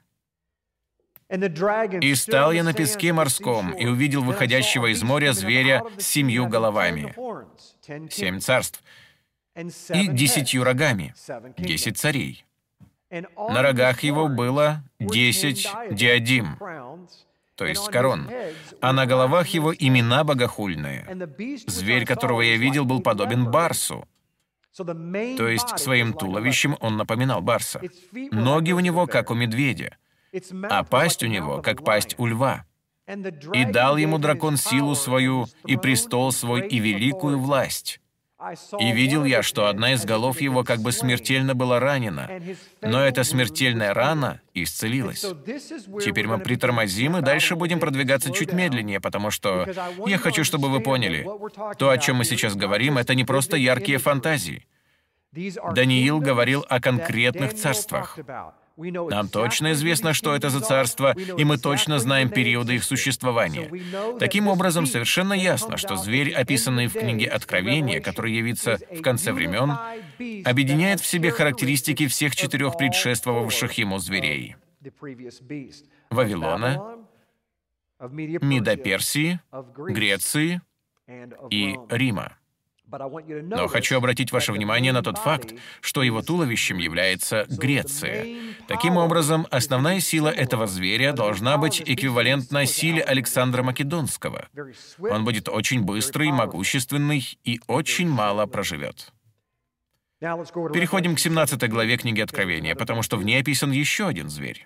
«И стал я на песке морском, и увидел выходящего из моря зверя с 7 головами, 7 царств, и 10 рогами, 10 царей. На рогах его было 10 диадим, то есть корон, а на головах его имена богохульные. Зверь, которого я видел, был подобен барсу, то есть своим туловищем он напоминал барса. Ноги у него, как у медведя, а пасть у него, как пасть у льва. И дал ему дракон силу свою, и престол свой, и великую власть. И видел я, что одна из голов его как бы смертельно была ранена, но эта смертельная рана исцелилась». Теперь мы притормозим и дальше будем продвигаться чуть медленнее, потому что я хочу, чтобы вы поняли, то, о чем мы сейчас говорим, это не просто яркие фантазии. Даниил говорил о конкретных царствах. Нам точно известно, что это за царство, и мы точно знаем периоды их существования. Таким образом, совершенно ясно, что зверь, описанный в книге Откровения, который явится в конце времен, объединяет в себе характеристики всех 4 предшествовавших ему зверей: Вавилона, Мидо-Персии, Греции и Рима. Но хочу обратить ваше внимание на тот факт, что его туловищем является Греция. Таким образом, основная сила этого зверя должна быть эквивалентна силе Александра Македонского. Он будет очень быстрый, могущественный и очень мало проживет. Переходим к 17 главе книги Откровения, потому что в ней описан еще один зверь.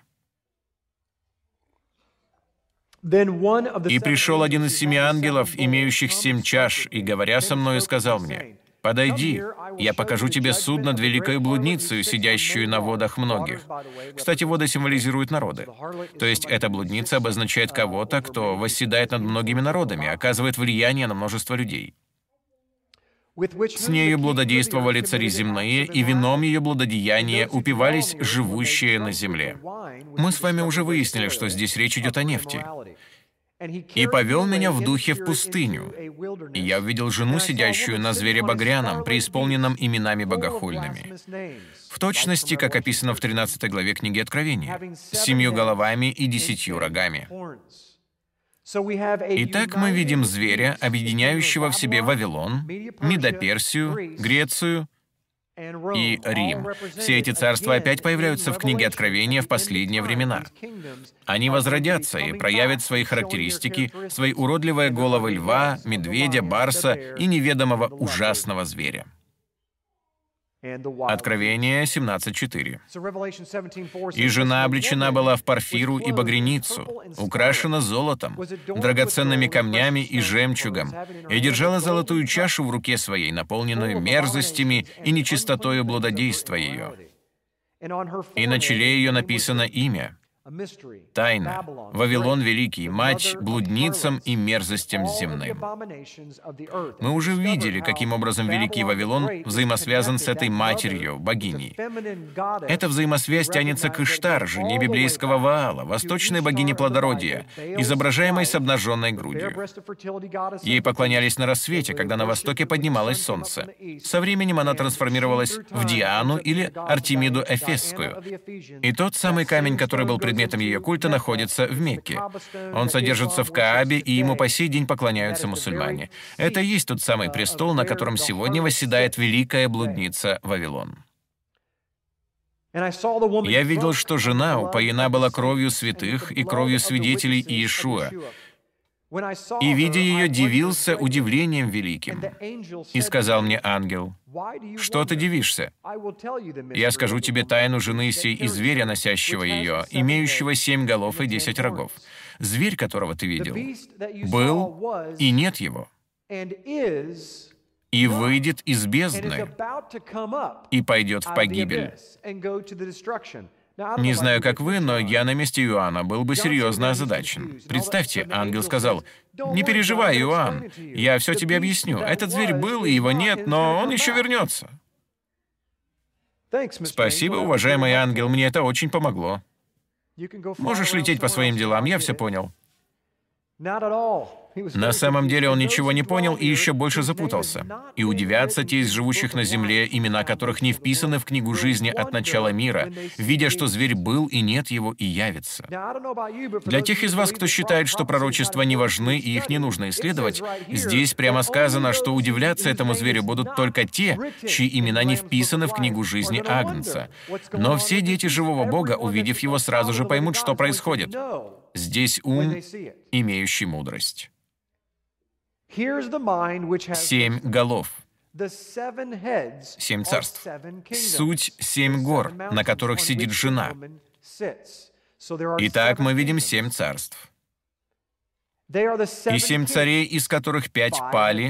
«И пришел один из 7 ангелов, имеющих 7 чаш, и, говоря со мною, сказал мне: «Подойди, я покажу тебе суд над великою блудницею, сидящую на водах многих». Кстати, воды символизируют народы. То есть эта блудница обозначает кого-то, кто восседает над многими народами, оказывает влияние на множество людей. С нею блудодействовали цари земные, и вином ее блудодеяния упивались живущие на земле. Мы с вами уже выяснили, что здесь речь идет о нефти. «И повел меня в духе в пустыню, и я увидел жену, сидящую на звере багряном, преисполненном именами богохульными». В точности, как описано в 13 главе книги Откровения, с 7 головами и 10 рогами. Итак, мы видим зверя, объединяющего в себе Вавилон, Медоперсию, Грецию и Рим. Все эти царства опять появляются в книге Откровения в последние времена. Они возродятся и проявят свои характеристики, свои уродливые головы льва, медведя, барса и неведомого ужасного зверя. Откровение 17:4. «И жена облечена была в парфиру и багряницу, украшена золотом, драгоценными камнями и жемчугом, и держала золотую чашу в руке своей, наполненную мерзостями и нечистотою блудодейства ее. И на челе ее написано имя, тайна, Вавилон Великий, мать блудницам и мерзостям земным». Мы уже видели, каким образом Великий Вавилон взаимосвязан с этой матерью, богиней. Эта взаимосвязь тянется к Иштар, жене библейского Ваала, восточной богине плодородия, изображаемой с обнаженной грудью. Ей поклонялись на рассвете, когда на востоке поднималось солнце. Со временем она трансформировалась в Диану или Артемиду Эфесскую. И тот самый камень, который был предметом ее культа, находится в Мекке. Он содержится в Каабе, и ему по сей день поклоняются мусульмане. Это и есть тот самый престол, на котором сегодня восседает великая блудница Вавилон. Я видел, что жена упоена была кровью святых и кровью свидетелей Иешуа. И, видя ее, дивился удивлением великим. И сказал мне ангел: «Что ты дивишься? Я скажу тебе тайну жены сей и зверя, носящего ее, имеющего 7 голов и 10 рогов. Зверь, которого ты видел, был, и нет его, и выйдет из бездны, и пойдет в погибель». Не знаю, как вы, но я на месте Иоанна был бы серьезно озадачен. Представьте, ангел сказал: «Не переживай, Иоанн, я все тебе объясню. Этот зверь был, и его нет, но он еще вернется». Спасибо, уважаемый ангел, мне это очень помогло. Можешь лететь по своим делам, я все понял. На самом деле он ничего не понял и еще больше запутался. И удивятся те из живущих на земле, имена которых не вписаны в книгу жизни от начала мира, видя, что зверь был, и нет его, и явится. Для тех из вас, кто считает, что пророчества не важны и их не нужно исследовать, здесь прямо сказано, что удивляться этому зверю будут только те, чьи имена не вписаны в книгу жизни Агнца. Но все дети живого Бога, увидев его, сразу же поймут, что происходит. Здесь ум, имеющий мудрость. 7 голов. 7 царств. Суть 7 гор, на которых сидит жена. Итак, мы видим 7 царств. И 7 царей, из которых 5 пали,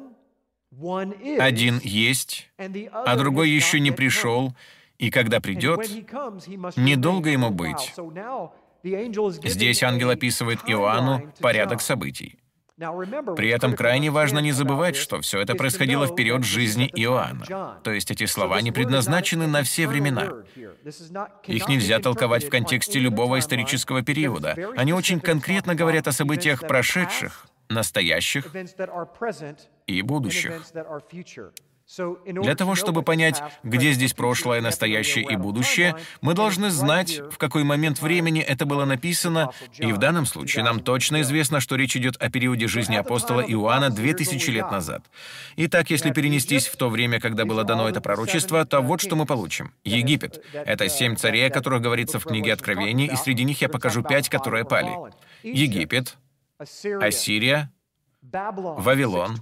1 есть, а другой еще не пришел, и когда придет, недолго ему быть. Здесь ангел описывает Иоанну порядок событий. При этом крайне важно не забывать, что все это происходило в период жизни Иоанна. То есть эти слова не предназначены на все времена. Их нельзя толковать в контексте любого исторического периода. Они очень конкретно говорят о событиях прошедших, настоящих и будущих. Для того, чтобы понять, где здесь прошлое, настоящее и будущее, мы должны знать, в какой момент времени это было написано, и в данном случае нам точно известно, что речь идет о периоде жизни апостола Иоанна 2000 лет назад. Итак, если перенестись в то время, когда было дано это пророчество, то вот что мы получим. Египет — это 7 царей, о которых говорится в книге Откровения, и среди них я покажу 5, которые пали. Египет, Ассирия, Вавилон,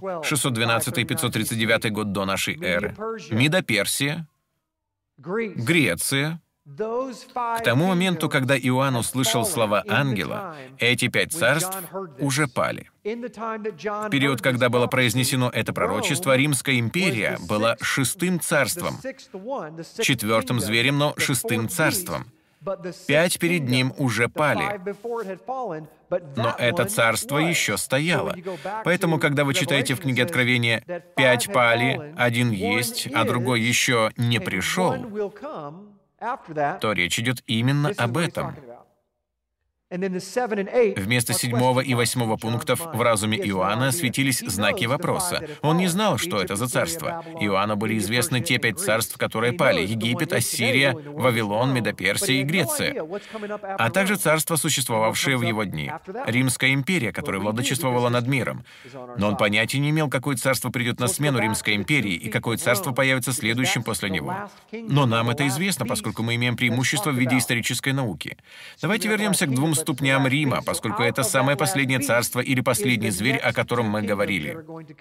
612-539 год до нашей эры, Медоперсия, Греция, К тому моменту, когда Иоанн услышал слова ангела, эти 5 царств уже пали. В период, когда было произнесено это пророчество, Римская империя была 6-м царством, 4-м зверем, но 6-м царством. 5 перед ним уже пали. Но это царство еще стояло. Поэтому, когда вы читаете в книге Откровения «5 пали, 1 есть, а другой еще не пришел», то речь идет именно об этом. Вместо 7 и 8 пунктов в разуме Иоанна светились знаки вопроса. Он не знал, что это за царство. Иоанну были известны те 5 царств, которые пали: Египет, Ассирия, Вавилон, Медоперсия и Греция, а также царства, существовавшие в его дни. Римская империя, которая владычествовала над миром. Но он понятия не имел, какое царство придет на смену Римской империи и какое царство появится следующим после него. Но нам это известно, поскольку мы имеем преимущество в виде исторической науки. Давайте вернемся к 2 ступням Рима, поскольку это самое последнее царство или последний зверь, о котором мы говорили.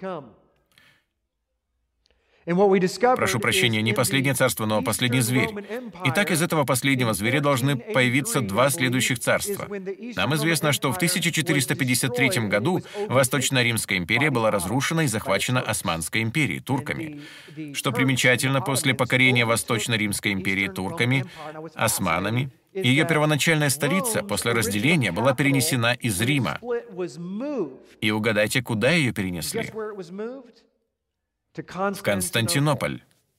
Прошу прощения, не последнее царство, но последний зверь. Итак, из этого последнего зверя должны появиться 2 следующих царства. Нам известно, что в 1453 году Восточная Римская империя была разрушена и захвачена Османской империей, турками. Что примечательно, после покорения Восточной Римской империи турками, османами, ее первоначальная столица после разделения была перенесена из Рима. И угадайте, куда ее перенесли? В Константинополь.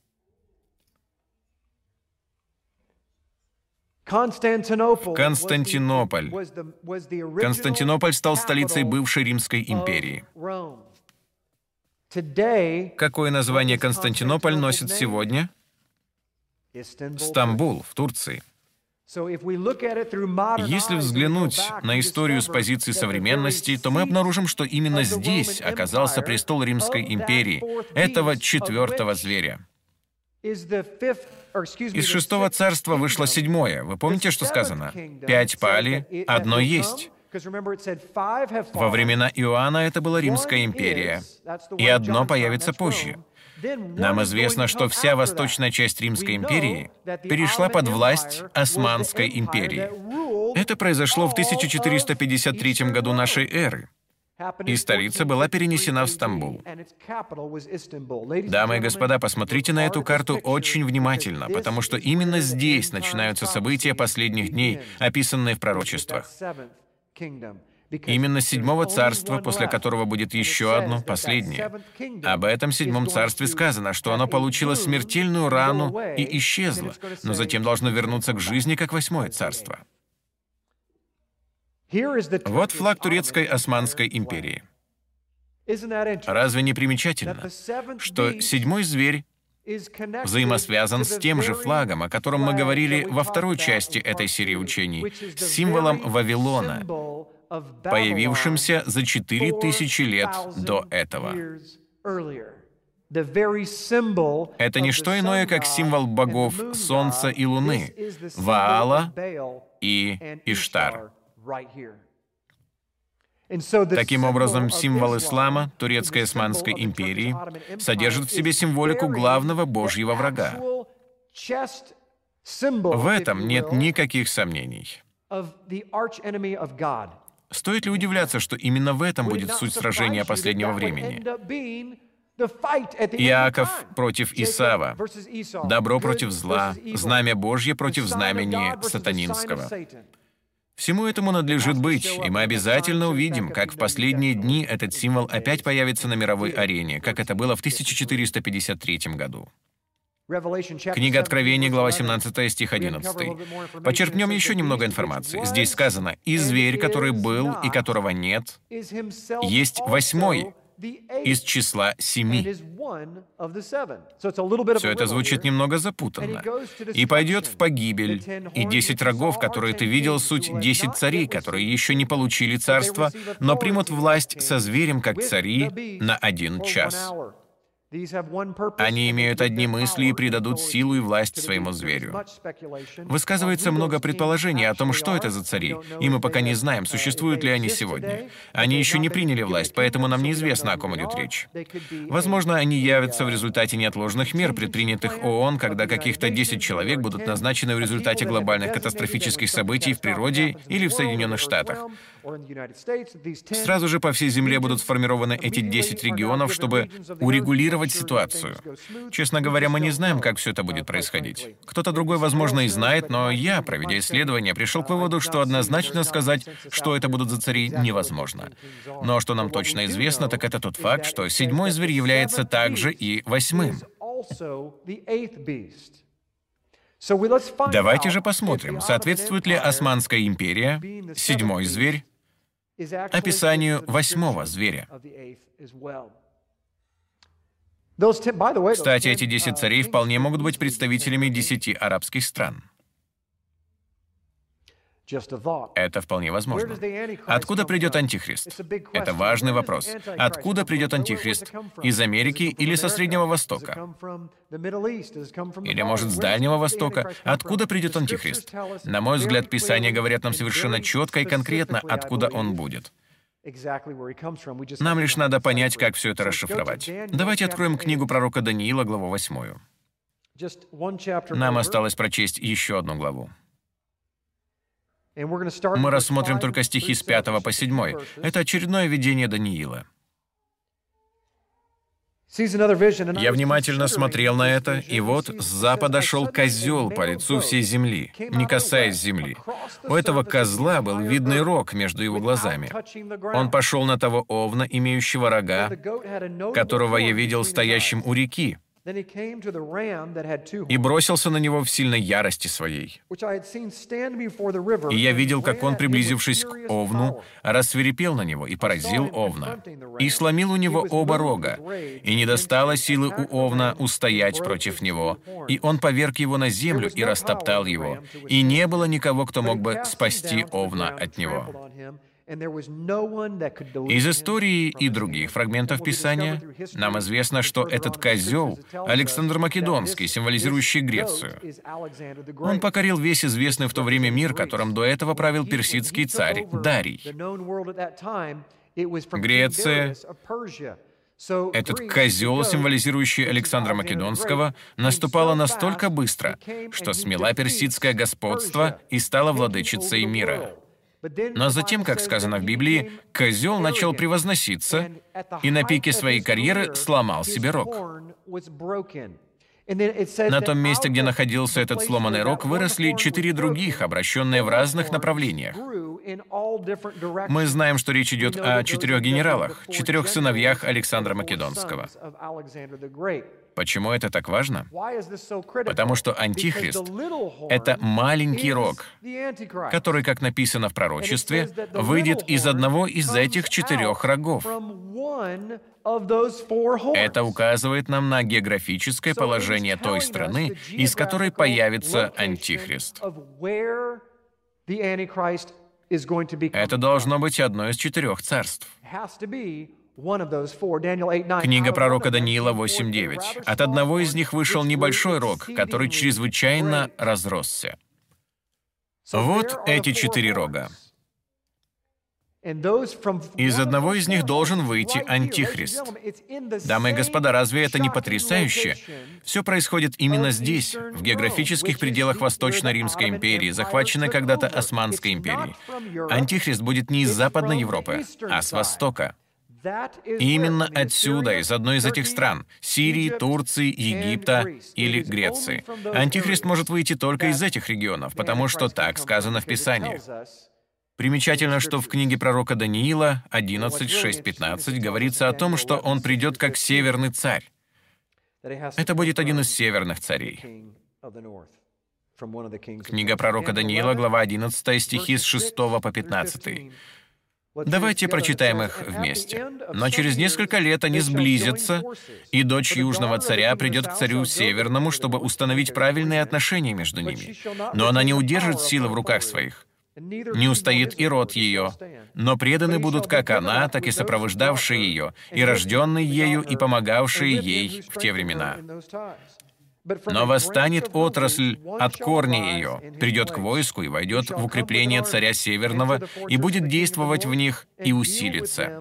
Константинополь. Константинополь стал столицей бывшей Римской империи. Какое название Константинополь носит сегодня? Стамбул, в Турции. Если взглянуть на историю с позиции современности, то мы обнаружим, что именно здесь оказался престол Римской империи, этого 4-го зверя. Из 6-го царства вышло 7-е. Вы помните, что сказано? 5 пали, 1 есть. Во времена Иоанна это была Римская империя, и 1 появится позже. Нам известно, что вся восточная часть Римской империи перешла под власть Османской империи. Это произошло в 1453 году нашей эры, и столица была перенесена в Стамбул. Дамы и господа, посмотрите на эту карту очень внимательно, потому что именно здесь начинаются события последних дней, описанные в пророчествах. Именно 7-го царства, после которого будет еще одно, последнее. Об этом 7-м царстве сказано, что оно получило смертельную рану и исчезло, но затем должно вернуться к жизни, как 8-е царство. Вот флаг турецкой Османской империи. Разве не примечательно, что 7-й зверь взаимосвязан с тем же флагом, о котором мы говорили во 2-й части этой серии учений, с символом Вавилона, появившимся за 4000 лет до этого. Это не что иное, как символ богов Солнца и Луны, Ваала и Иштар. Таким образом, символ ислама, турецкой Османской империи, содержит в себе символику главного Божьего врага. В этом нет никаких сомнений. Стоит ли удивляться, что именно в этом будет суть сражения последнего времени? Иаков против Исава, добро против зла, знамя Божье против знамени сатанинского. Всему этому надлежит быть, и мы обязательно увидим, как в последние дни этот символ опять появится на мировой арене, как это было в 1453 году. Книга Откровения, глава 17, стих 11. Почерпнем еще немного информации. Здесь сказано: «И зверь, который был и которого нет, есть 8-й из числа 7». Все это звучит немного запутанно. «И пойдет в погибель, и 10 рогов, которые ты видел, суть 10 царей, которые еще не получили царство, но примут власть со зверем, как цари, на 1 час». Они имеют одни мысли и придадут силу и власть своему зверю. Высказывается много предположений о том, что это за цари, и мы пока не знаем, существуют ли они сегодня. Они еще не приняли власть, поэтому нам неизвестно, о ком идет речь. Возможно, они явятся в результате неотложных мер, предпринятых ООН, когда каких-то 10 человек будут назначены в результате глобальных катастрофических событий в природе или в Соединенных Штатах. Сразу же по всей Земле будут сформированы эти 10 регионов, чтобы урегулировать ситуацию. Честно говоря, мы не знаем, как все это будет происходить. Кто-то другой, возможно, и знает, но я, проведя исследование, пришел к выводу, что однозначно сказать, что это будут за цари, невозможно. Но что нам точно известно, так это тот факт, что 7-й зверь является также и 8-м. Давайте же посмотрим, соответствует ли Османская империя, 7-й зверь, описанию 8-го зверя. Кстати, эти 10 царей вполне могут быть представителями 10 арабских стран. Это вполне возможно. Откуда придет Антихрист? Это важный вопрос. Откуда придет Антихрист? Из Америки или со Среднего Востока? Или, может, с Дальнего Востока? Откуда придет Антихрист? На мой взгляд, Писания говорят нам совершенно четко и конкретно, откуда он будет. Нам лишь надо понять, как все это расшифровать. Давайте откроем книгу пророка Даниила, главу 8. Нам осталось прочесть еще одну главу. Мы рассмотрим только стихи с 5 по 7. Это очередное видение Даниила. «Я внимательно смотрел на это, и вот с запада шел козел по лицу всей земли, не касаясь земли. У этого козла был видный рог между его глазами. Он пошел на того овна, имеющего рога, которого я видел стоящим у реки, и бросился на него в сильной ярости своей. И я видел, как он, приблизившись к овну, рассвирепел на него и поразил овна, и сломил у него оба рога, и не достало силы у овна устоять против него, и он поверг его на землю и растоптал его, и не было никого, кто мог бы спасти овна от него». Из истории и других фрагментов Писания нам известно, что этот козел — Александр Македонский, символизирующий Грецию. Он покорил весь известный в то время мир, которым до этого правил персидский царь Дарий. Греция. Этот козел, символизирующий Александра Македонского, наступала настолько быстро, что смела персидское господство и стала владычицей мира. Но затем, как сказано в Библии, козел начал превозноситься и на пике своей карьеры сломал себе рог. На том месте, где находился этот сломанный рог, выросли 4 других, обращенные в разных направлениях. Мы знаем, что речь идет о 4 генералах, 4 сыновьях Александра Македонского. Почему это так важно? Потому что Антихрист — это маленький рог, который, как написано в пророчестве, выйдет из одного из этих 4 рогов. Это указывает нам на географическое положение той страны, из которой появится Антихрист. Это должно быть одно из 4 царств. Книга пророка Даниила 8:9. От одного из них вышел небольшой рог, который чрезвычайно разросся. Вот эти 4 рога. Из одного из них должен выйти Антихрист. Дамы и господа, разве это не потрясающе? Все происходит именно здесь, в географических пределах Восточно-Римской империи, захваченной когда-то Османской империей. Антихрист будет не из Западной Европы, а с Востока. И именно отсюда, из одной из этих стран — Сирии, Турции, Египта или Греции. Антихрист может выйти только из этих регионов, потому что так сказано в Писании. Примечательно, что в книге пророка Даниила 11:6-15 говорится о том, что он придет как северный царь. Это будет один из северных царей. Книга пророка Даниила, глава 11, стихи с 6 по 15. Давайте прочитаем их вместе. «Но через несколько лет они сблизятся, и дочь Южного царя придет к царю Северному, чтобы установить правильные отношения между ними. Но она не удержит силы в руках своих. Не устоит и род ее, но преданы будут как она, так и сопровождавшие ее, и рожденные ею, и помогавшие ей в те времена. Но восстанет отрасль от корня ее, придет к войску и войдет в укрепление царя Северного, и будет действовать в них и усилится.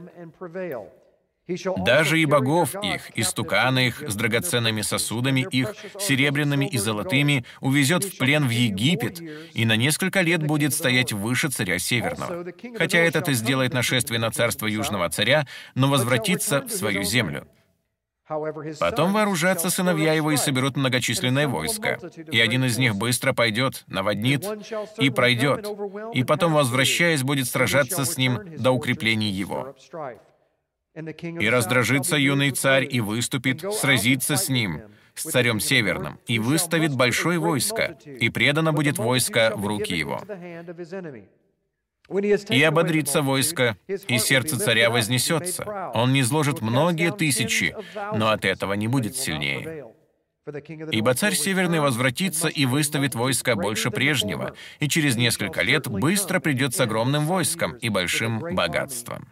Даже и богов их, и стуканы их с драгоценными сосудами их, серебряными и золотыми, увезет в плен в Египет, и на несколько лет будет стоять выше царя Северного. Хотя этот и сделает нашествие на царство Южного царя, но возвратится в свою землю. Потом вооружатся сыновья его и соберут многочисленное войско, и один из них быстро пойдет, наводнит и пройдет, и потом, возвращаясь, будет сражаться с ним до укреплений его. И раздражится юный царь, и выступит, сразится с ним, с царем Северным, и выставит большое войско, и предано будет войско в руки его. И ободрится войско, и сердце царя вознесется. Он низложит многие тысячи, но от этого не будет сильнее. Ибо царь Северный возвратится и выставит войско больше прежнего, и через несколько лет быстро придет с огромным войском и большим богатством.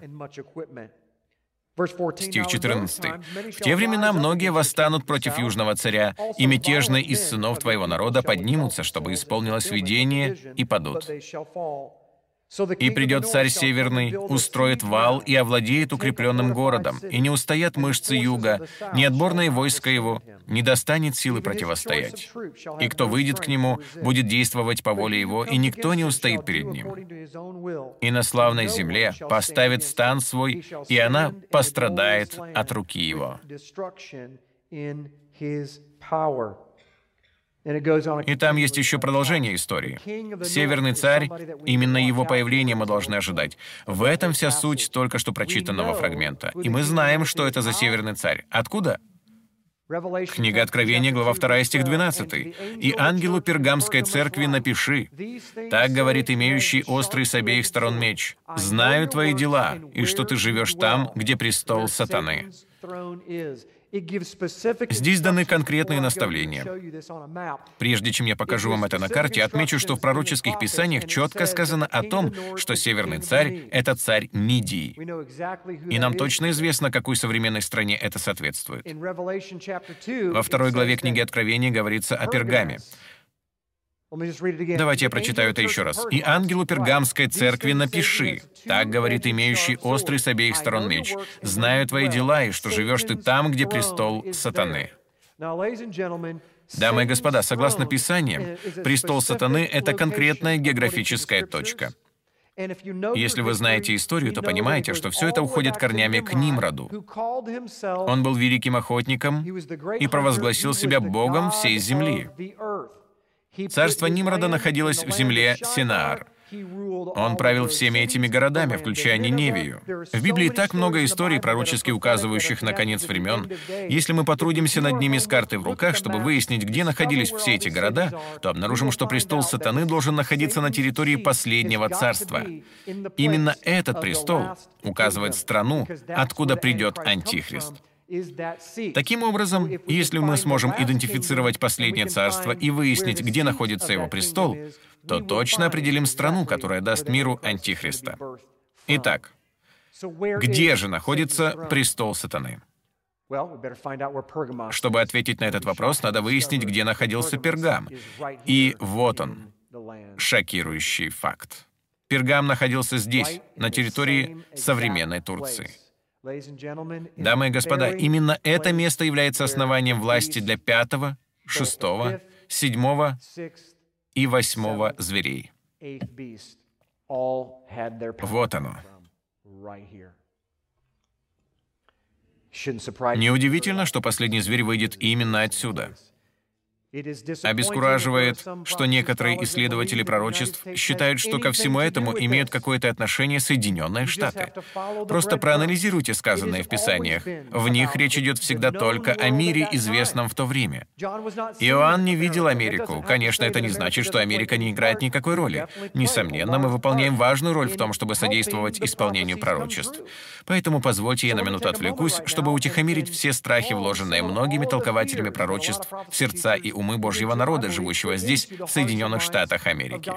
Стих 14. «В те времена многие восстанут против Южного царя, и мятежные из сынов твоего народа поднимутся, чтобы исполнилось видение, и падут. И придет царь Северный, устроит вал и овладеет укрепленным городом, и не устоят мышцы юга, ни отборное войско его не достанет силы противостоять. И кто выйдет к нему, будет действовать по воле его, и никто не устоит перед ним. И на славной земле поставит стан свой, и она пострадает от руки его». И там есть еще продолжение истории. Северный царь, именно его появление мы должны ожидать. В этом вся суть только что прочитанного фрагмента. И мы знаем, что это за Северный царь. Откуда? Книга Откровения, глава 2, стих 12. «И ангелу Пергамской церкви напиши, так говорит имеющий острый с обеих сторон меч, знаю твои дела, и что ты живешь там, где престол сатаны». Здесь даны конкретные наставления. Прежде чем я покажу вам это на карте, отмечу, что в пророческих писаниях четко сказано о том, что Северный царь — это царь Мидии. И нам точно известно, какой современной стране это соответствует. Во 2 главе книги Откровения говорится о Пергаме. Давайте я прочитаю это еще раз. «И ангелу Пергамской церкви напиши, так говорит имеющий острый с обеих сторон меч, знаю твои дела, и что живешь ты там, где престол сатаны». Дамы и господа, согласно Писаниям, престол сатаны — это конкретная географическая точка. Если вы знаете историю, то понимаете, что все это уходит корнями к Нимроду. Он был великим охотником и провозгласил себя богом всей земли. Царство Нимрода находилось в земле Синаар. Он правил всеми этими городами, включая Ниневию. В Библии так много историй, пророчески указывающих на конец времен. Если мы потрудимся над ними с картой в руках, чтобы выяснить, где находились все эти города, то обнаружим, что престол сатаны должен находиться на территории последнего царства. Именно этот престол указывает страну, откуда придет Антихрист. Таким образом, если мы сможем идентифицировать последнее царство и выяснить, где находится его престол, то точно определим страну, которая даст миру Антихриста. Итак, где же находится престол сатаны? Чтобы ответить на этот вопрос, надо выяснить, где находился Пергам. И вот он, шокирующий факт. Пергам находился здесь, на территории современной Турции. Дамы и господа, именно это место является основанием власти для 5-го, 6-го, 7-го и 8-го зверей. Вот оно. Неудивительно, что последний зверь выйдет именно отсюда. Обескураживает, что некоторые исследователи пророчеств считают, что ко всему этому имеют какое-то отношение Соединенные Штаты. Просто проанализируйте сказанное в Писаниях. В них речь идет всегда только о мире, известном в то время. Иоанн не видел Америку. Конечно, это не значит, что Америка не играет никакой роли. Несомненно, мы выполняем важную роль в том, чтобы содействовать исполнению пророчеств. Поэтому позвольте я на минуту отвлекусь, чтобы утихомирить все страхи, вложенные многими толкователями пророчеств в сердца и умы умы Божьего народа, живущего здесь, в Соединенных Штатах Америки.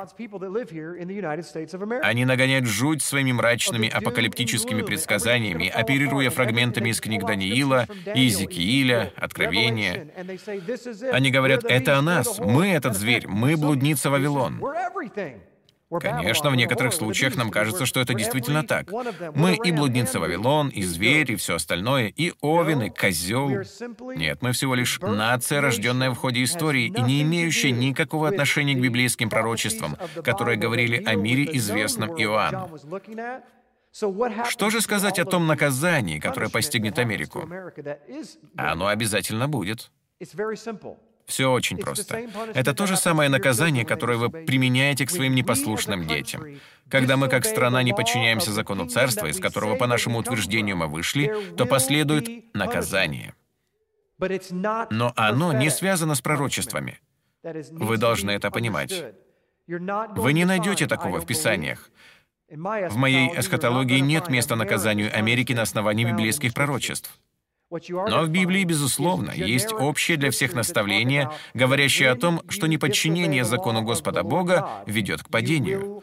Они нагоняют жуть своими мрачными апокалиптическими предсказаниями, оперируя фрагментами из книг Даниила, Иезекииля, Откровения. Они говорят, это о нас, мы этот зверь, мы блудница Вавилон. Конечно, в некоторых случаях нам кажется, что это действительно так. Мы и блудница Вавилон, и зверь, и все остальное, и овен, и козел. Нет, мы всего лишь нация, рожденная в ходе истории и не имеющая никакого отношения к библейским пророчествам, которые говорили о мире, известном Иоанну. Что же сказать о том наказании, которое постигнет Америку? Оно обязательно будет. Все очень просто. Это то же самое наказание, которое вы применяете к своим непослушным детям. Когда мы, как страна, не подчиняемся закону царства, из которого, по нашему утверждению, мы вышли, то последует наказание. Но оно не связано с пророчествами. Вы должны это понимать. Вы не найдете такого в Писаниях. В моей эсхатологии нет места наказанию Америки на основании библейских пророчеств. Но в Библии, безусловно, есть общее для всех наставление, говорящее о том, что неподчинение закону Господа Бога ведет к падению.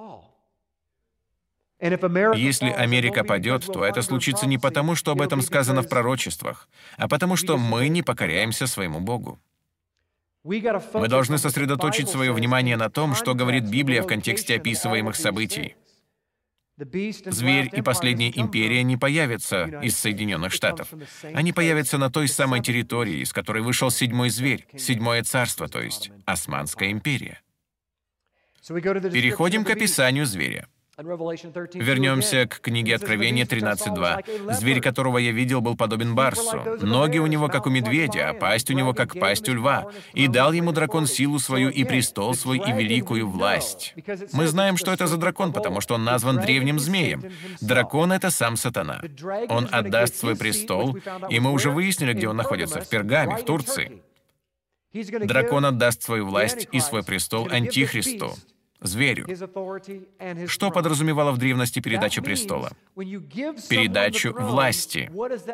Если Америка падет, то это случится не потому, что об этом сказано в пророчествах, а потому, что мы не покоряемся своему Богу. Мы должны сосредоточить свое внимание на том, что говорит Библия в контексте описываемых событий. Зверь и последняя империя не появятся из Соединенных Штатов. Они появятся на той самой территории, из которой вышел седьмой зверь, седьмое царство, то есть Османская империя. Переходим к описанию зверя. Вернемся к книге Откровения 13:2. «Зверь, которого я видел, был подобен барсу. Ноги у него, как у медведя, а пасть у него, как пасть у льва. И дал ему дракон силу свою, и престол свой, и великую власть». Мы знаем, что это за дракон, потому что он назван древним змеем. Дракон — это сам сатана. Он отдаст свой престол, и мы уже выяснили, где он находится, в Пергаме, в Турции. Дракон отдаст свою власть и свой престол Антихристу, зверю. Что подразумевала в древности передача престола? Передачу власти.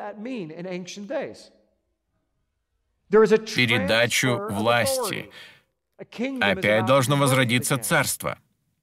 Передачу власти. Опять должно возродиться царство.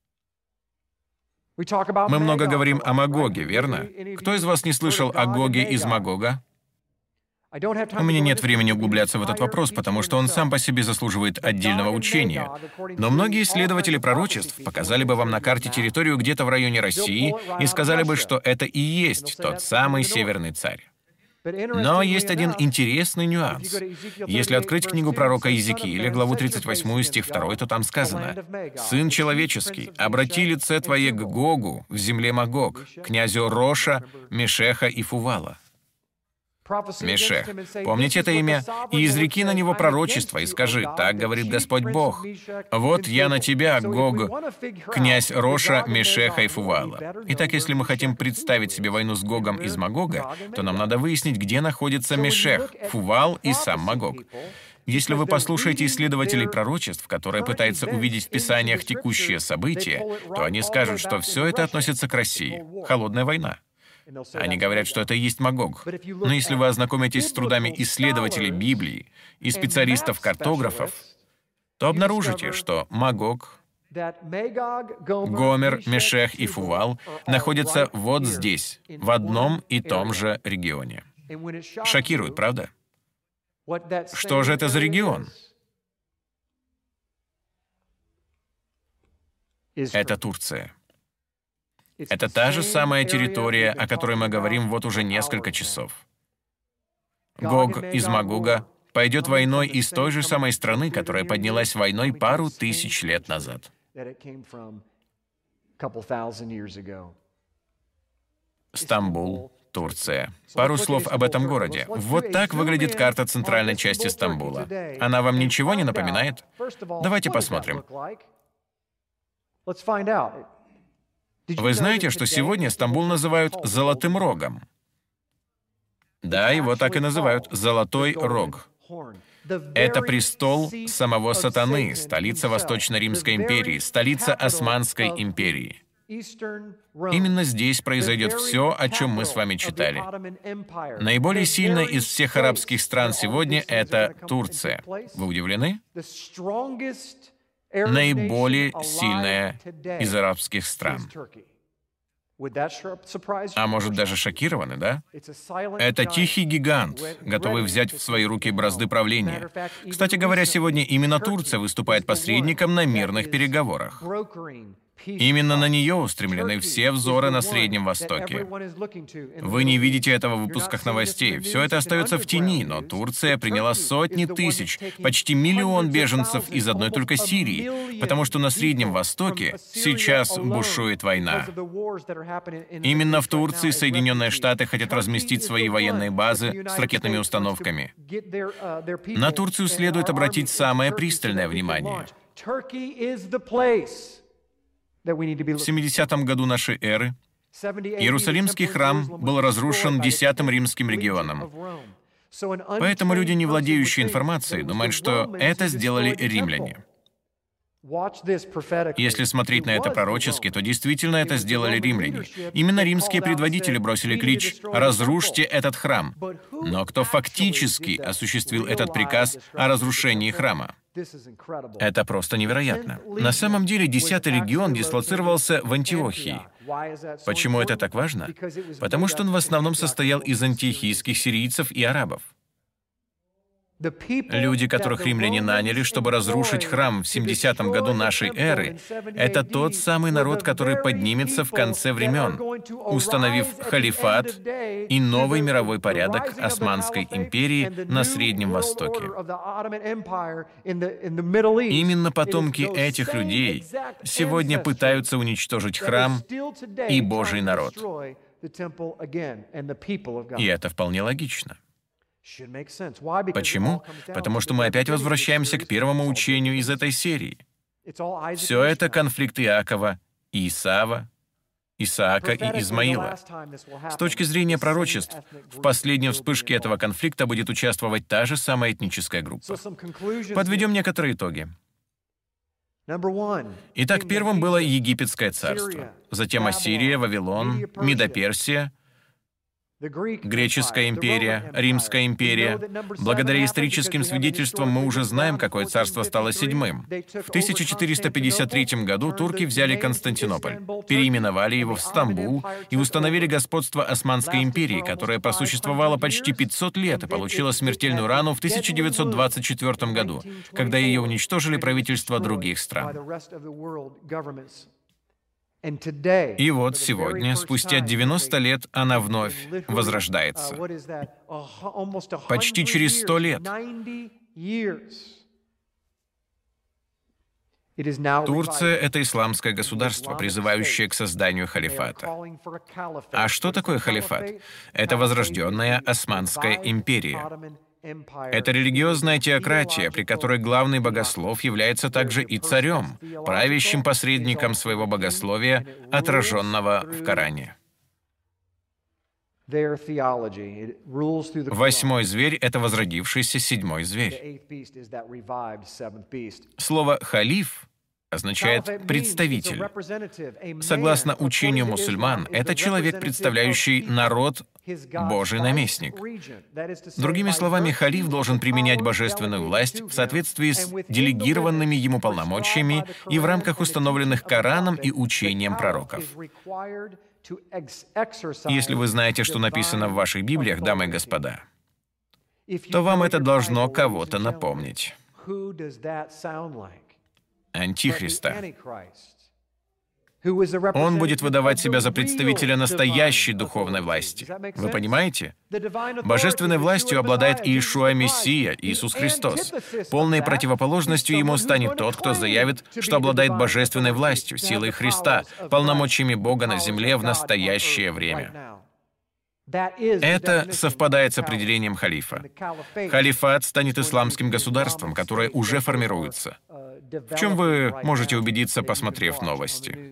Мы много говорим о Магоге, верно? Кто из вас не слышал о Гоге из Магога? У меня нет времени углубляться в этот вопрос, потому что он сам по себе заслуживает отдельного учения. Но многие исследователи пророчеств показали бы вам на карте территорию где-то в районе России и сказали бы, что это и есть тот самый Северный Царь. Но есть один интересный нюанс. Если открыть книгу пророка Иезекииля, главу 38, стих 2, то там сказано: «Сын человеческий, обрати лице твое к Гогу в земле Магог, князю Роша, Мешеха и Фувала». Мешех. Помните это имя? «И изреки на него пророчество, и скажи, так говорит Господь Бог, вот я на тебя, Гог, князь Роша, Мешеха и Фувала». Итак, если мы хотим представить себе войну с Гогом из Магога, то нам надо выяснить, где находится Мешех, Фувал и сам Магог. Если вы послушаете исследователей пророчеств, которые пытаются увидеть в Писаниях текущие события, то они скажут, что все это относится к России. Холодная война. Они говорят, что это и есть Магог. Но если вы ознакомитесь с трудами исследователей Библии и специалистов-картографов, то обнаружите, что Магог, Гомер, Мешех и Фувал находятся вот здесь, в одном и том же регионе. Шокирует, правда? Что же это за регион? Это Турция. Это та же самая территория, о которой мы говорим вот уже несколько часов. Гог из Магога пойдет войной из той же самой страны, которая поднялась войной пару тысяч лет назад. Стамбул, Турция. Пару слов об этом городе. Вот так выглядит карта центральной части Стамбула. Она вам ничего не напоминает? Давайте посмотрим. Вы знаете, что сегодня Стамбул называют «Золотым Рогом»? Да, его так и называют «Золотой Рог». Это престол самого сатаны, столица Восточно-Римской империи, столица Османской империи. Именно здесь произойдет все, о чем мы с вами читали. Наиболее сильная из всех арабских стран сегодня — это Турция. Вы удивлены? Наиболее сильная из арабских стран. А может, даже шокированы, да? Это тихий гигант, готовый взять в свои руки бразды правления. Кстати говоря, сегодня именно Турция выступает посредником на мирных переговорах. Именно на нее устремлены все взоры на Среднем Востоке. Вы не видите этого в выпусках новостей. Все это остается в тени, но Турция приняла сотни тысяч, почти миллион беженцев из одной только Сирии, потому что на Среднем Востоке сейчас бушует война. Именно в Турции Соединенные Штаты хотят разместить свои военные базы с ракетными установками. На Турцию следует обратить самое пристальное внимание. В 70-м году нашей эры Иерусалимский храм был разрушен 10-м римским легионом. Поэтому люди, не владеющие информацией, думают, что это сделали римляне. Если смотреть на это пророчески, то действительно это сделали римляне. Именно римские предводители бросили клич «Разрушьте этот храм». Но кто фактически осуществил этот приказ о разрушении храма? Это просто невероятно. На самом деле, 10-й легион дислоцировался в Антиохии. Почему это так важно? Потому что он в основном состоял из антиохийских сирийцев и арабов. Люди, которых римляне наняли, чтобы разрушить храм в 70-м году нашей эры, это тот самый народ, который поднимется в конце времен, установив халифат и новый мировой порядок Османской империи на Среднем Востоке. Именно потомки этих людей сегодня пытаются уничтожить храм и Божий народ. И это вполне логично. Почему? Потому что мы опять возвращаемся к первому учению из этой серии. Все это конфликт Иакова и Исава, Исаака и Измаила. С точки зрения пророчеств, в последней вспышке этого конфликта будет участвовать та же самая этническая группа. Подведем некоторые итоги. Итак, первым было Египетское царство, затем Ассирия, Вавилон, Медоперсия, Греческая империя, Римская империя. Благодаря историческим свидетельствам мы уже знаем, какое царство стало седьмым. В 1453 году турки взяли Константинополь, переименовали его в Стамбул и установили господство Османской империи, которая просуществовала почти 500 лет и получила смертельную рану в 1924 году, когда ее уничтожили правительства других стран. И вот сегодня, спустя 90 лет, она вновь возрождается. Почти через 100 лет. Турция — это исламское государство, призывающее к созданию халифата. А что такое халифат? Это возрожденная Османская империя. Это религиозная теократия, при которой главный богослов является также и царем, правящим посредником своего богословия, отраженного в Коране. Восьмой зверь — это возродившийся седьмой зверь. Слово «халиф» означает «представитель». Согласно учению мусульман, это человек, представляющий народ, Божий наместник. Другими словами, халиф должен применять божественную власть в соответствии с делегированными ему полномочиями и в рамках установленных Кораном и учением пророков. Если вы знаете, что написано в ваших Библиях, дамы и господа, то вам это должно кого-то напомнить. Антихриста. Он будет выдавать себя за представителя настоящей духовной власти. Вы понимаете? Божественной властью обладает Иешуа Мессия, Иисус Христос. Полной противоположностью ему станет тот, кто заявит, что обладает божественной властью, силой Христа, полномочиями Бога на земле в настоящее время. Это совпадает с определением халифа. Халифат станет исламским государством, которое уже формируется. В чем вы можете убедиться, посмотрев новости.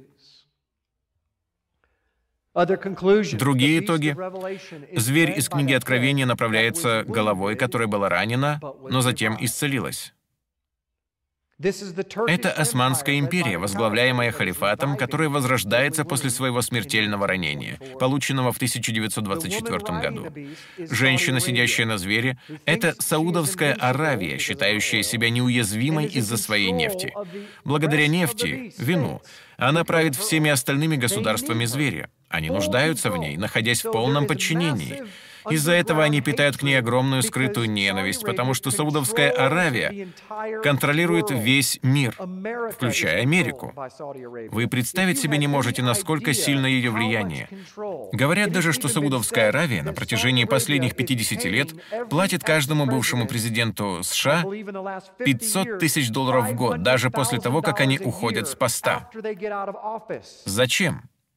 Другие итоги. Зверь из книги Откровения направляется головой, которая была ранена, но затем исцелилась. Это Османская империя, возглавляемая халифатом, которая возрождается после своего смертельного ранения, полученного в 1924 году. Женщина, сидящая на звере, это Саудовская Аравия, считающая себя неуязвимой из-за своей нефти. Благодаря нефти, вину, она правит всеми остальными государствами зверя. Они нуждаются в ней, находясь в полном подчинении. Из-за этого они питают к ней огромную скрытую ненависть, потому что Саудовская Аравия контролирует весь мир, включая Америку. Вы представить себе не можете, насколько сильно ее влияние. Говорят даже, что Саудовская Аравия на протяжении последних 50 лет платит каждому бывшему президенту США $500 тысяч в год, даже после того, как они уходят с поста. Зачем?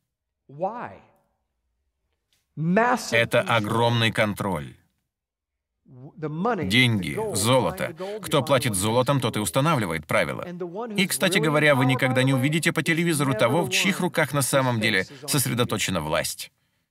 Это огромный контроль. Деньги, золото. Кто платит золотом, тот и устанавливает правила. И, кстати говоря, вы никогда не увидите по телевизору того, в чьих руках на самом деле сосредоточена власть.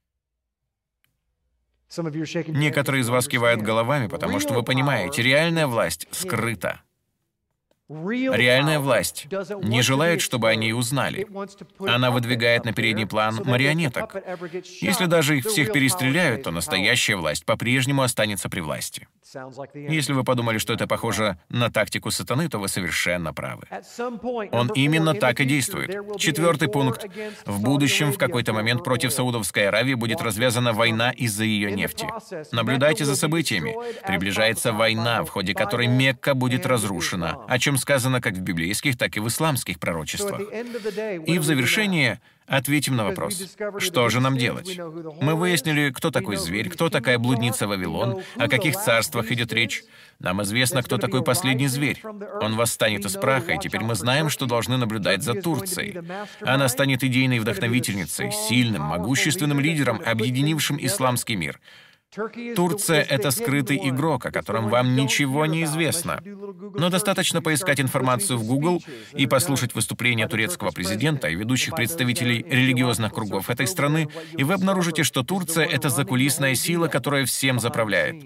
Некоторые из вас кивают головами, потому что вы понимаете, реальная власть скрыта. Реальная власть не желает, чтобы они узнали. Она выдвигает на передний план марионеток. Если даже их всех перестреляют, то настоящая власть по-прежнему останется при власти. Если вы подумали, что это похоже на тактику сатаны, то вы совершенно правы. Он именно так и действует. 4-й пункт. В будущем, в какой-то момент, против Саудовской Аравии будет развязана война из-за ее нефти. Наблюдайте за событиями. Приближается война, в ходе которой Мекка будет разрушена, о чем сказано как в библейских, так и в исламских пророчествах. И в завершение ответим на вопрос, что же нам делать? Мы выяснили, кто такой зверь, кто такая блудница Вавилон, о каких царствах идет речь. Нам известно, кто такой последний зверь. Он восстанет из праха, и теперь мы знаем, что должны наблюдать за Турцией. Она станет идейной вдохновительницей, сильным, могущественным лидером, объединившим исламский мир. Турция — это скрытый игрок, о котором вам ничего не известно. Но достаточно поискать информацию в Google и послушать выступления турецкого президента и ведущих представителей религиозных кругов этой страны, и вы обнаружите, что Турция — это закулисная сила, которая всем заправляет.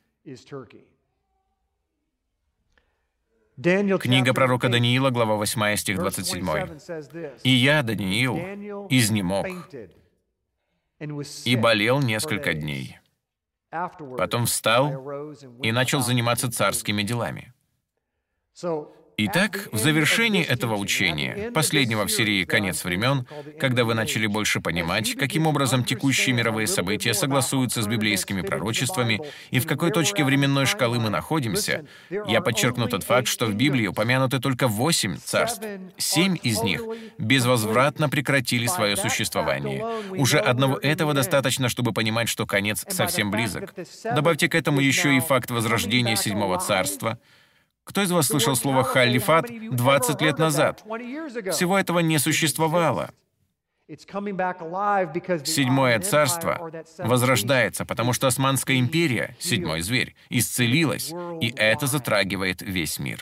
Книга пророка Даниила, глава 8, стих 27. «И я, Даниил, изнемог и болел несколько дней. Потом встал и начал заниматься царскими делами». Итак, в завершении этого учения, последнего в серии «Конец времен», когда вы начали больше понимать, каким образом текущие мировые события согласуются с библейскими пророчествами и в какой точке временной шкалы мы находимся, я подчеркну тот факт, что в Библии упомянуты только 8 царств. 7 из них безвозвратно прекратили свое существование. Уже одного этого достаточно, чтобы понимать, что конец совсем близок. Добавьте к этому еще и факт возрождения 7-го царства. Кто из вас слышал слово «халифат» 20 лет назад? Всего этого не существовало. 7-е царство возрождается, потому что Османская империя, 7-й зверь, исцелилась, и это затрагивает весь мир.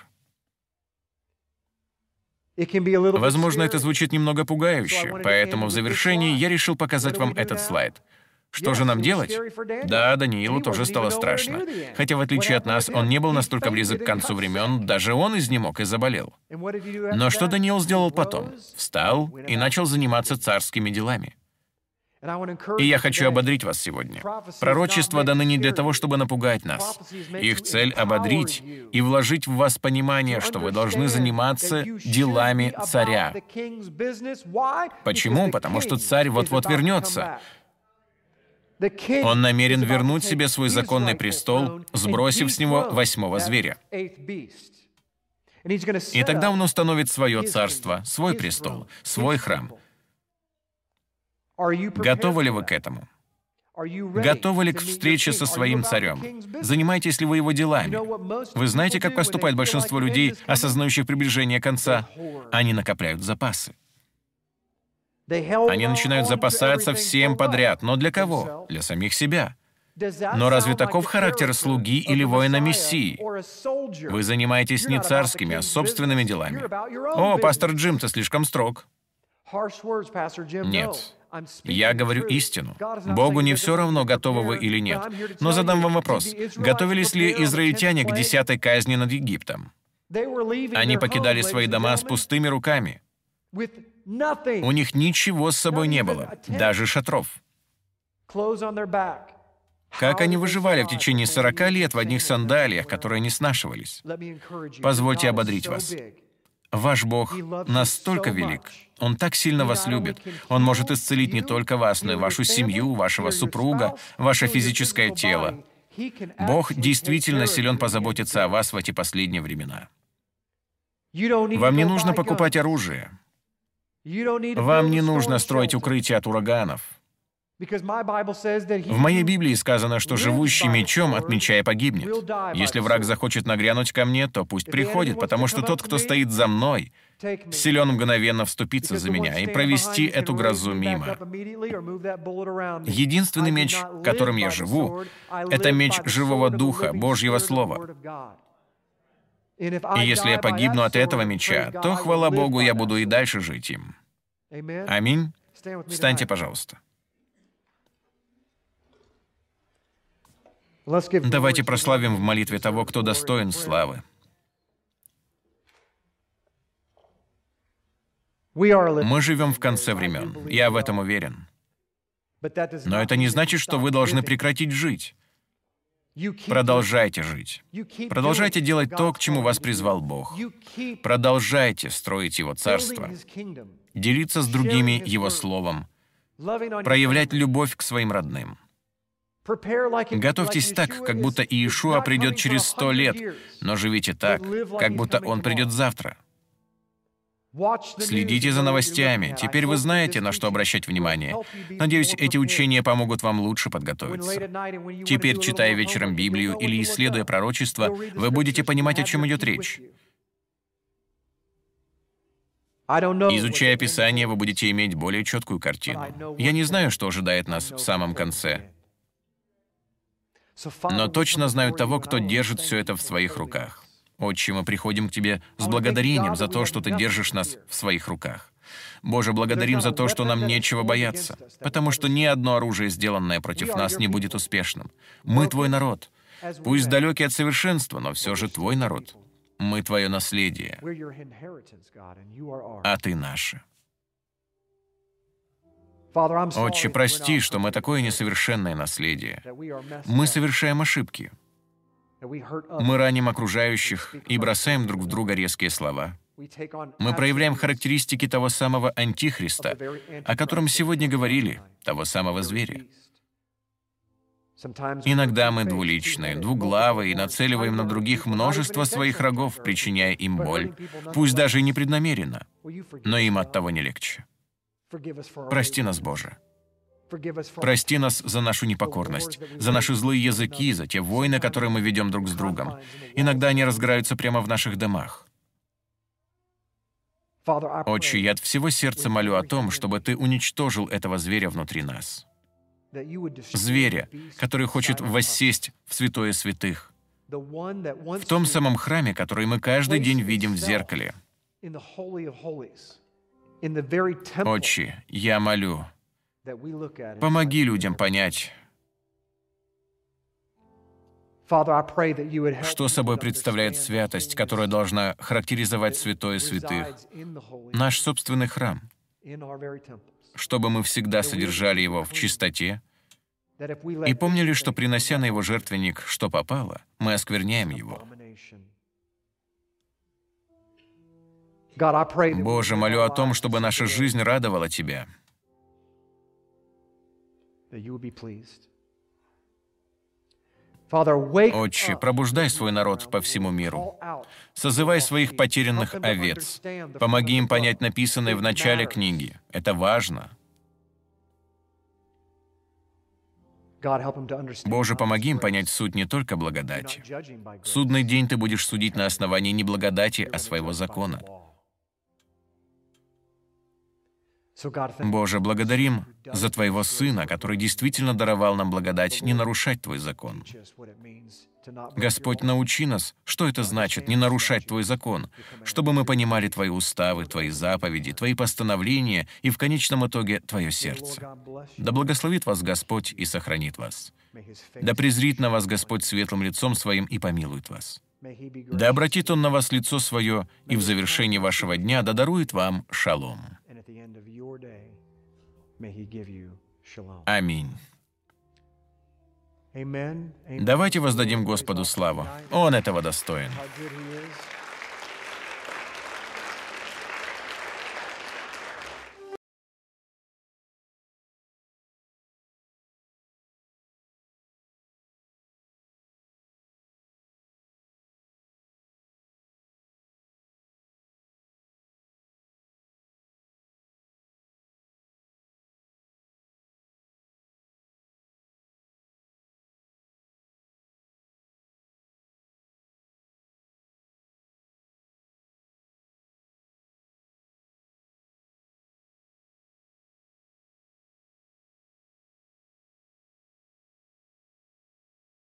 Возможно, это звучит немного пугающе, поэтому в завершении я решил показать вам этот слайд. Что же нам делать? Да, Даниилу тоже стало страшно. Хотя, в отличие от нас, он не был настолько близок к концу времен, даже он изнемог и заболел. Но что Даниил сделал потом? Встал и начал заниматься царскими делами. И я хочу ободрить вас сегодня. Пророчества даны не для того, чтобы напугать нас. Их цель — ободрить и вложить в вас понимание, что вы должны заниматься делами царя. Почему? Потому что царь вот-вот вернется. Он намерен вернуть себе свой законный престол, сбросив с него 8-го зверя. И тогда он установит свое царство, свой престол, свой храм. Готовы ли вы к этому? Готовы ли к встрече со своим царем? Занимаетесь ли вы его делами? Вы знаете, как поступает большинство людей, осознающих приближение конца? Они накопляют запасы. Они начинают запасаться всем подряд. Но для кого? Для самих себя. Но разве таков характер слуги или воина Мессии? Вы занимаетесь не царскими, а собственными делами. О, пастор Джим, ты слишком строг. Нет. Я говорю истину. Богу не все равно, готовы вы или нет. Но задам вам вопрос. Готовились ли израильтяне к 10-й казни над Египтом? Они покидали свои дома с пустыми руками. У них ничего с собой не было, даже шатров. Как они выживали в течение 40 лет в одних сандалиях, которые не снашивались? Позвольте ободрить вас. Ваш Бог настолько велик, Он так сильно вас любит. Он может исцелить не только вас, но и вашу семью, вашего супруга, ваше физическое тело. Бог действительно силен позаботиться о вас в эти последние времена. Вам не нужно покупать оружие. Вам не нужно строить укрытия от ураганов. В моей Библии сказано, что живущий мечом от меча и погибнет. Если враг захочет нагрянуть ко мне, то пусть приходит, потому что тот, кто стоит за мной, силен мгновенно вступиться за меня и провести эту грозу мимо. Единственный меч, которым я живу, это меч живого духа, Божьего Слова. И если я погибну от этого меча, то, хвала Богу, я буду и дальше жить им. Аминь. Встаньте, пожалуйста. Давайте прославим в молитве того, кто достоин славы. Мы живем в конце времен, я в этом уверен. Но это не значит, что вы должны прекратить жить. Продолжайте жить. Продолжайте делать то, к чему вас призвал Бог. Продолжайте строить Его Царство, делиться с другими Его Словом, проявлять любовь к своим родным. Готовьтесь так, как будто Иешуа придет через 100 лет, но живите так, как будто Он придет завтра. Следите за новостями. Теперь вы знаете, на что обращать внимание. Надеюсь, эти учения помогут вам лучше подготовиться. Теперь, читая вечером Библию или исследуя пророчество, вы будете понимать, о чем идет речь. Изучая Писание, вы будете иметь более четкую картину. Я не знаю, что ожидает нас в самом конце. Но точно знаю того, кто держит все это в своих руках. Отче, мы приходим к Тебе с благодарением за то, что Ты держишь нас в своих руках. Боже, благодарим за то, что нам нечего бояться, потому что ни одно оружие, сделанное против нас, не будет успешным. Мы Твой народ. Пусть далекий от совершенства, но все же Твой народ. Мы Твое наследие, а Ты наше. Отче, прости, что мы такое несовершенное наследие. Мы совершаем ошибки. Мы раним окружающих и бросаем друг в друга резкие слова. Мы проявляем характеристики того самого Антихриста, о котором сегодня говорили, того самого зверя. Иногда мы двуличны, двуглавы и нацеливаем на других множество своих рогов, причиняя им боль, пусть даже и непреднамеренно, но им от того не легче. Прости нас, Боже. Прости нас за нашу непокорность, за наши злые языки, за те войны, которые мы ведем друг с другом. Иногда они разгораются прямо в наших домах. Отче, я от всего сердца молю о том, чтобы Ты уничтожил этого зверя внутри нас. Зверя, который хочет воссесть в святое святых, в том самом храме, который мы каждый день видим в зеркале. Отче, я молю, помоги людям понять, что собой представляет святость, которая должна характеризовать святое святых, наш собственный храм, чтобы мы всегда содержали его в чистоте и помнили, что, принося на его жертвенник, что попало, мы оскверняем его. Боже, молю о том, чтобы наша жизнь радовала Тебя. Отче, пробуждай свой народ по всему миру. Созывай своих потерянных овец. Помоги им понять написанное в начале книги. Это важно. Боже, помоги им понять суть не только благодати. В судный день Ты будешь судить на основании не благодати, а своего закона. Боже, благодарим за Твоего Сына, который действительно даровал нам благодать не нарушать Твой закон. Господь, научи нас, что это значит не нарушать Твой закон, чтобы мы понимали Твои уставы, Твои заповеди, Твои постановления и в конечном итоге Твое сердце. Да благословит вас Господь и сохранит вас. Да презрит на вас Господь светлым лицом Своим и помилует вас. Да обратит Он на вас лицо Свое, и в завершении вашего дня да дарует вам шалом. Аминь. Давайте воздадим Господу славу. Он этого достоин.